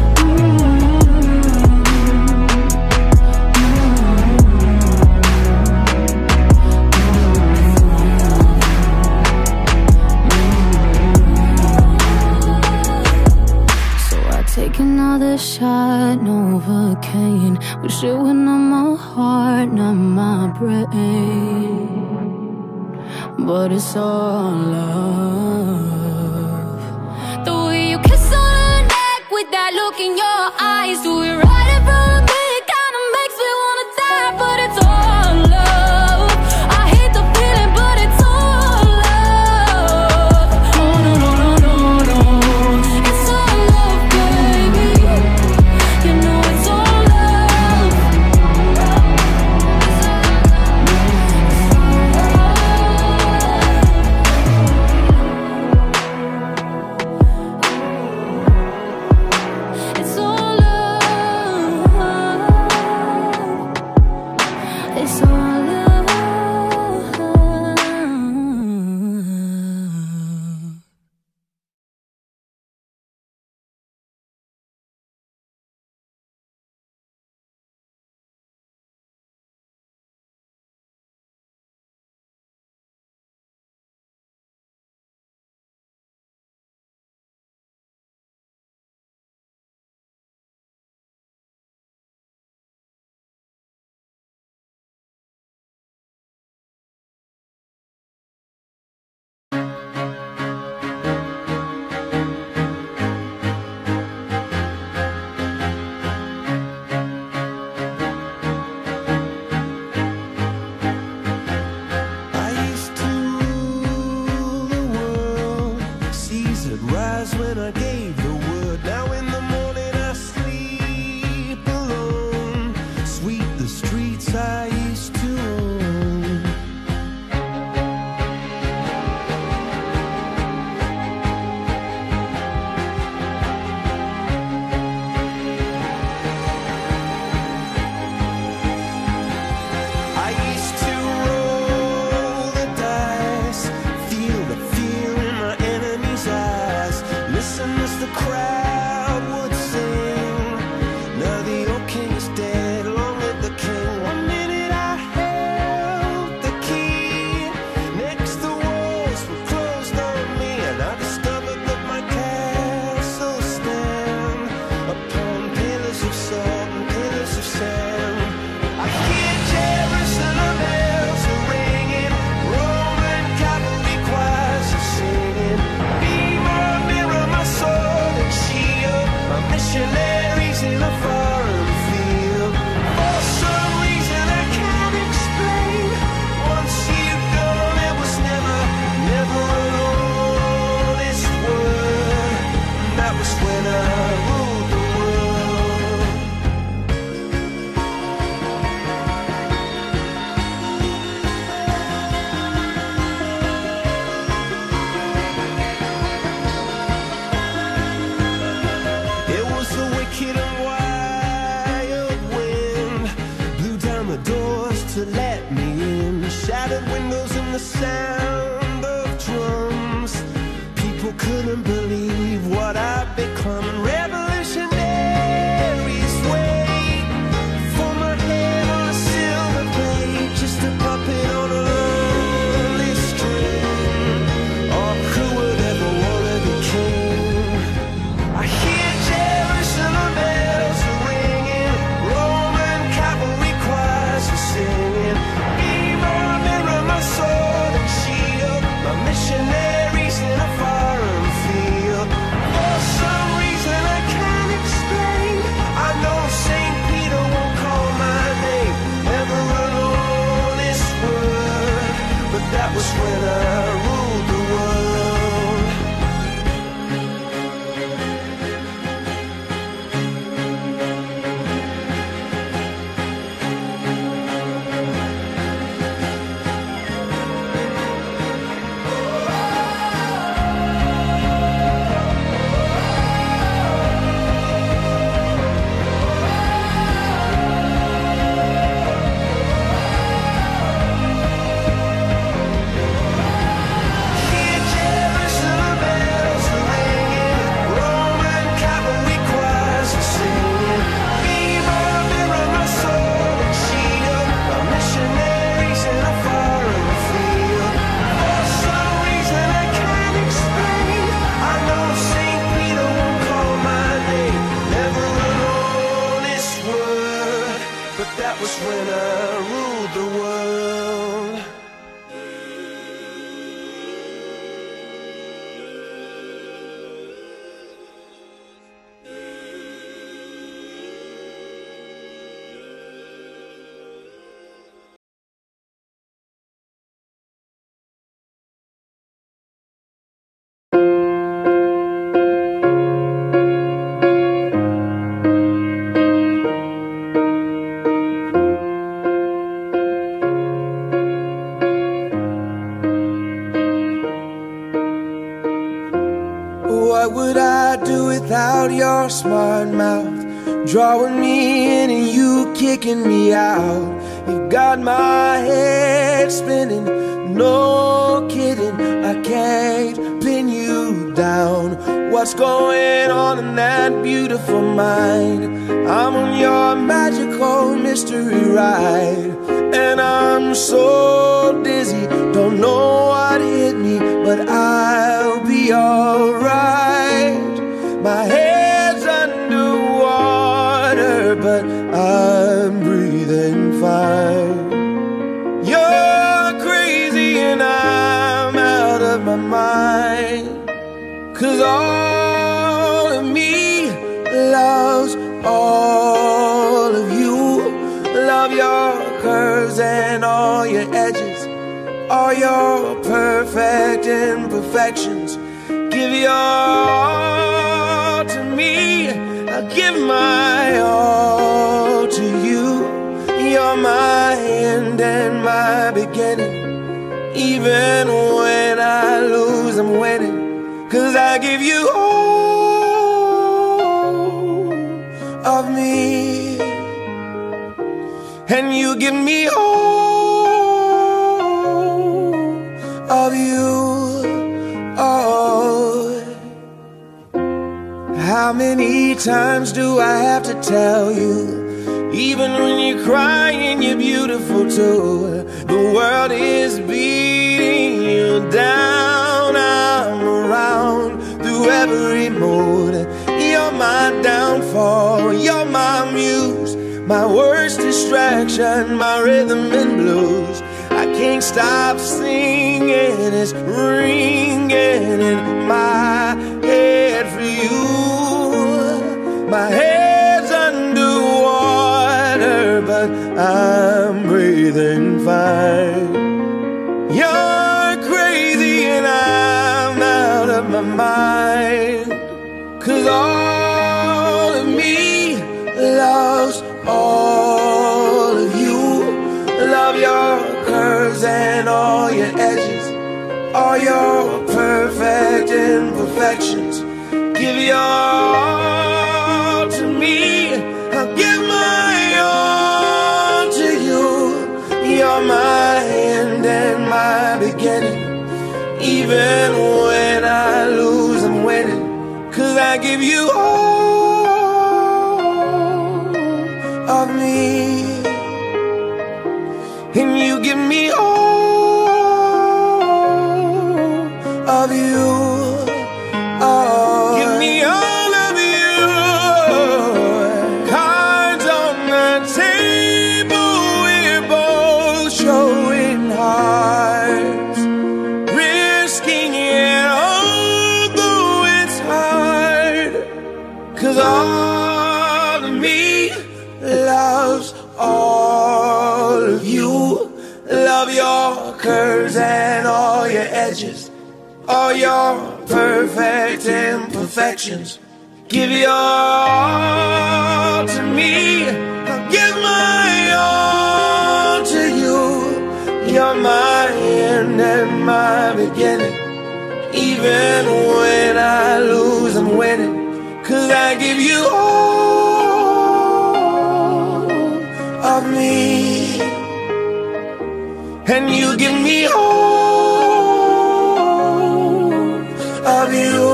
So I take another shot, Novocaine. Wish it went on my heart, not my brain. But it's all love. The way you kiss on her neck with that look in your eyes. Do it right in front of me, kinda makes me wanna die. But it's all love. I hate the feeling, but it's all love. Oh no, no, no, no, no. It's all love, baby. You know it's all love. It's all love. It's all love. I used to rule the world. Seas would rise when I gave the word. Now in the morning I sleep alone. Sweep the streets I used to own. I used to roll the dice, feel the fear in my enemy's eyes. Listen as the crowd would sing. Now the old king is dead, long live the king. One minute I held the key, next the walls were closed on me, and I discovered that my castle stand upon pillars of salt and pillars of sand. I hear Jerusalem bells are ringing, Roman cavalry choirs are singing. Be my mirror, my sword and shield, my missionaries in a foreign field. For some reason I can't explain, once you've gone it was never, never an honest word. And that was when I ruled the world. It was the wicked and wild wind, blew down the doors to let me in. Shattered windows and the sound of drums. People couldn't believe what I'd become. And revolutionaries wait for my head on a silver plate, just a puppet on a lonely string. Oh, who would ever wanna be king? I hear Jerusalem bells are ringing, Roman cavalry choirs are singing. Be my mirror, my sword and shield, my missionaries in a foreign field. was when I ruled the world. What would I do without your smart mouth? Drawing me in and you kicking me out. You got my head spinning, no kidding. I can't pin you down. What's going on in that beautiful mind? I'm on your magical mystery ride, and I'm so dizzy, don't know what hit me, but I'll be alright. My head's underwater, but I'm breathing fine. You're crazy and I'm out of my mind, 'cause all of me loves all of you. Love your curves and all your edges, all your perfect imperfections. Give your all to me, I'll give my all to you. You're my end and my beginning. Even when I lose, I'm winning, 'cause I give you all of me, and you give me all of you. Oh, how many times do I have to tell you? Even when you're crying, you're beautiful too. The world is beating you down. I'm around through every mood. You're my downfall, you're my muse, my worst distraction, my rhythm and blues. I can't stop singing, it's ringing in my head for you. My head's underwater, but I'm breathing fine. You're crazy and I'm out of my mind, 'cause all of me loves all of you. Love your curves and all your edges, all your perfect imperfections. Give your all to me, I'll give my all to you. You're my end and my beginning. Even when I lose, I'm winning, 'cause I give you all of me, and you give me all of you. Oh, give me all of you. Cards on the table, we're both showing hearts, risking it although it's hard, 'cause all of me loves all of you. Love your curves and all your edges, all your perfect imperfections. Give your all to me, I'll give my all to you. You're my end and my beginning. Even when I lose, I'm winning, 'cause I give you all of me, and you give me all of you.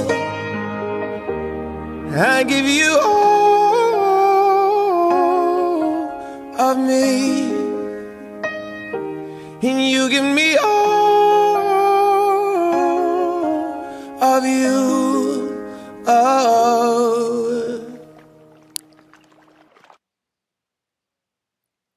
I give you all of me, and you give me all of you. Oh.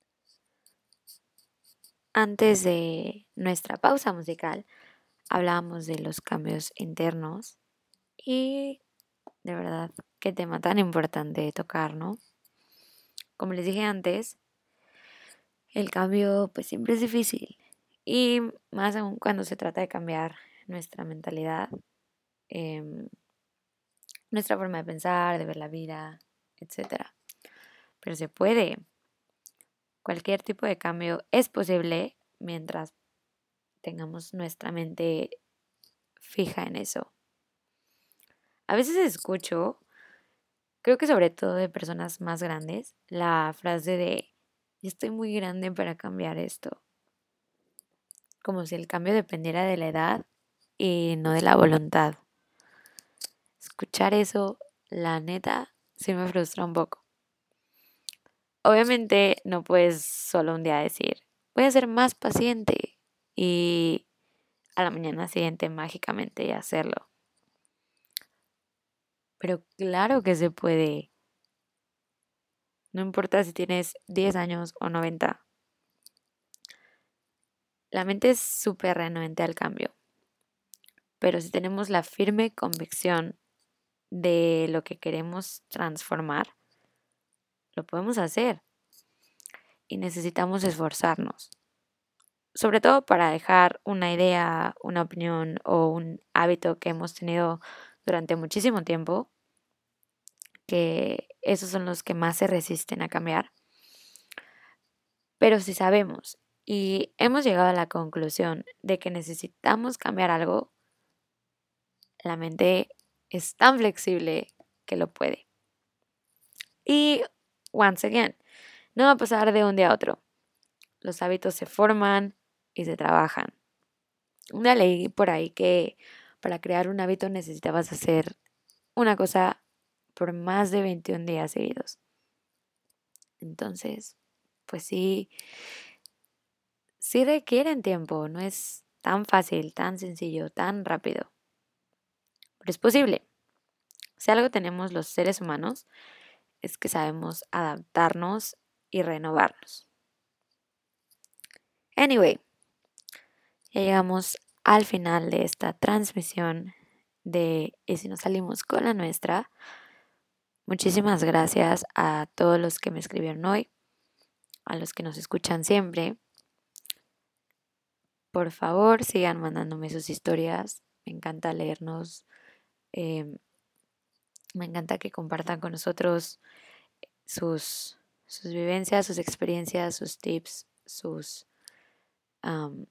antes de nuestra pausa musical hablábamos de los cambios internos y de verdad qué tema tan importante de tocar, ¿no? Como les dije antes, el cambio pues siempre es difícil y más aún cuando se trata de cambiar nuestra mentalidad, em, nuestra forma de pensar, de ver la vida, etcétera. Pero se puede. Cualquier tipo de cambio es posible mientras tengamos nuestra mente fija en eso. A veces escucho, creo que sobre todo de personas más grandes, la frase de estoy muy grande para cambiar esto. Como si el cambio dependiera de la edad y no de la voluntad. Escuchar eso, la neta, sí me frustra un poco. Obviamente no puedes solo un día decir, voy a ser más paciente y a la mañana siguiente mágicamente hacerlo. Pero claro que se puede. No importa si tienes diez años o noventa. La mente es súper renuente al cambio. Pero si tenemos la firme convicción de lo que queremos transformar, lo podemos hacer. Y necesitamos esforzarnos. Sobre todo para dejar una idea, una opinión o un hábito que hemos tenido durante muchísimo tiempo, que esos son los que más se resisten a cambiar. Pero si sabemos y hemos llegado a la conclusión de que necesitamos cambiar algo, la mente es tan flexible que lo puede. Y, once again, no va a pasar de un día a otro. Los hábitos se forman y se trabajan. Una leí por ahí que para crear un hábito necesitabas hacer una cosa por más de veintiún días seguidos. Entonces, pues sí, sí requieren tiempo, no es tan fácil, tan sencillo, tan rápido. Pero es posible. Si algo tenemos los seres humanos, es que sabemos adaptarnos y renovarnos. Anyway, ya llegamos al final de esta transmisión de Y si nos salimos con la nuestra. Muchísimas gracias a todos los que me escribieron hoy, a los que nos escuchan siempre. Por favor, sigan mandándome sus historias. Me encanta leernos. Eh, me encanta que compartan con nosotros sus, sus vivencias, sus experiencias, sus tips, sus... Um,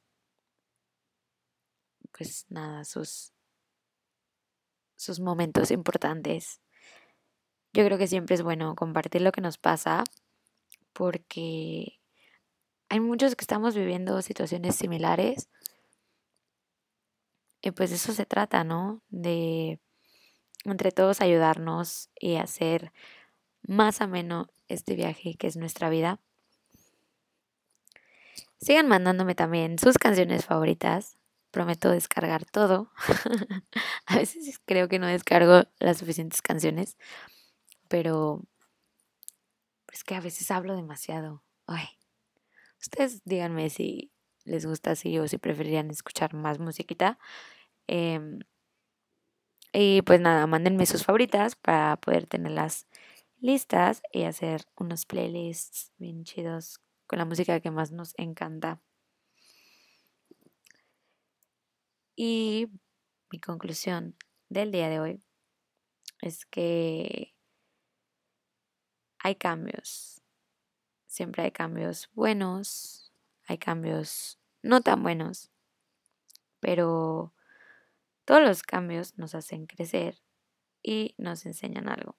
pues nada, sus, sus momentos importantes. Yo creo que siempre es bueno compartir lo que nos pasa porque hay muchos que estamos viviendo situaciones similares y pues de eso se trata, ¿no? De entre todos ayudarnos y hacer más ameno este viaje que es nuestra vida. Sigan mandándome también sus canciones favoritas. Prometo descargar todo. A veces creo que no descargo las suficientes canciones, pero es que a veces hablo demasiado. Ay. Ustedes díganme si les gusta así o si preferirían escuchar más musiquita. Eh, y pues nada, mándenme sus favoritas para poder tenerlas listas y hacer unos playlists bien chidos con la música que más nos encanta. Y mi conclusión del día de hoy es que hay cambios. Siempre hay cambios buenos, hay cambios no tan buenos, pero todos los cambios nos hacen crecer y nos enseñan algo.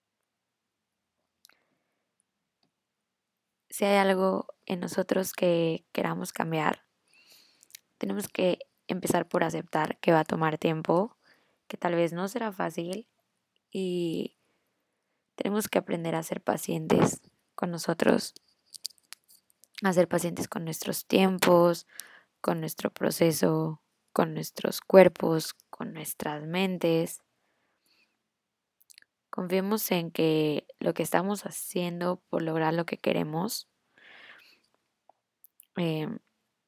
Si hay algo en nosotros que queramos cambiar, tenemos que empezar por aceptar que va a tomar tiempo, que tal vez no será fácil y tenemos que aprender a ser pacientes con nosotros, a ser pacientes con nuestros tiempos, con nuestro proceso, con nuestros cuerpos, con nuestras mentes. Confiemos en que lo que estamos haciendo por lograr lo que queremos eh,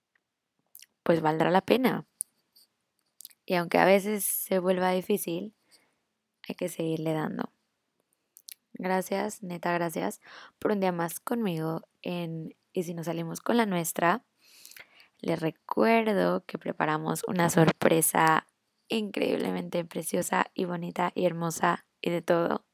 pues valdrá la pena. Y aunque a veces se vuelva difícil, hay que seguirle dando. Gracias, neta, gracias por un día más conmigo en Y si nos salimos con la nuestra. Les recuerdo que preparamos una sorpresa increíblemente preciosa y bonita y hermosa y de todo.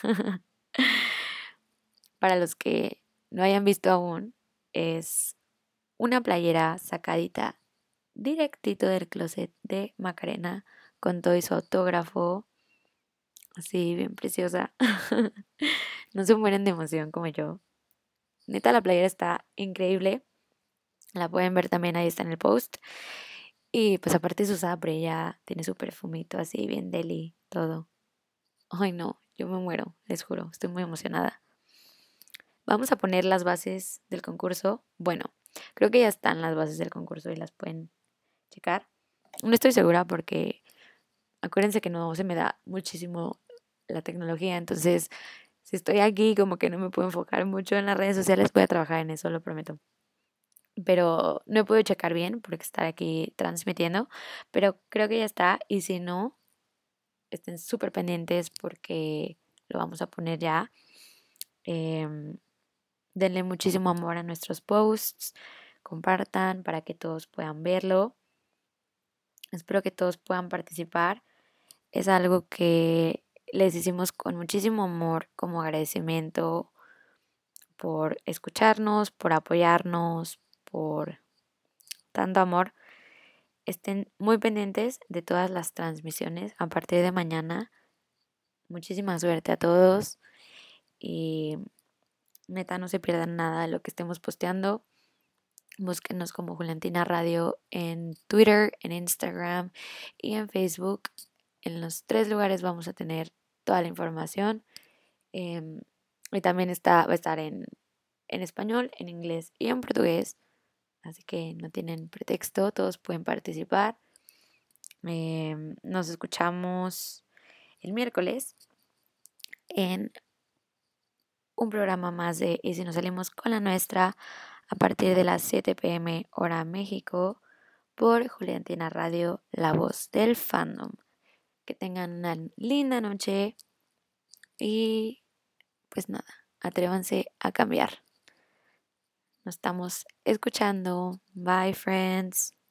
Para los que no hayan visto aún, es una playera sacadita directito del closet de Macarena con todo y su autógrafo. Así, bien preciosa. No se mueren de emoción como yo. Neta, la playera está increíble. La pueden ver también, ahí está en el post. Y pues aparte es usada por ella, tiene su perfumito así, bien deli, todo. Ay no, yo me muero, les juro, estoy muy emocionada. Vamos a poner las bases del concurso. Bueno, creo que ya están las bases del concurso y las pueden checar. No estoy segura porque acuérdense que no se me da muchísimo la tecnología, entonces si estoy aquí como que no me puedo enfocar mucho en las redes sociales, voy a trabajar en eso, lo prometo. Pero no he podido checar bien porque estar aquí transmitiendo, pero creo que ya está y si no, estén súper pendientes porque lo vamos a poner ya. Eh, denle muchísimo amor a nuestros posts, compartan para que todos puedan verlo. Espero que todos puedan participar. Es algo que les hicimos con muchísimo amor como agradecimiento por escucharnos, por apoyarnos, por tanto amor. Estén muy pendientes de todas las transmisiones a partir de mañana. Muchísima suerte a todos y neta no se pierdan nada de lo que estemos posteando. Búsquenos como Juliantina Radio en Twitter, en Instagram y en Facebook. En los tres lugares vamos a tener toda la información. Eh, y también está, va a estar en, en español, en inglés y en portugués. Así que no tienen pretexto, todos pueden participar. Eh, nos escuchamos el miércoles en un programa más de Y si nos salimos con la nuestra a partir de las siete p m hora México por Juliantina Radio, la voz del fandom. Que tengan una linda noche y pues nada, atrévanse a cambiar. Nos estamos escuchando. Bye, friends.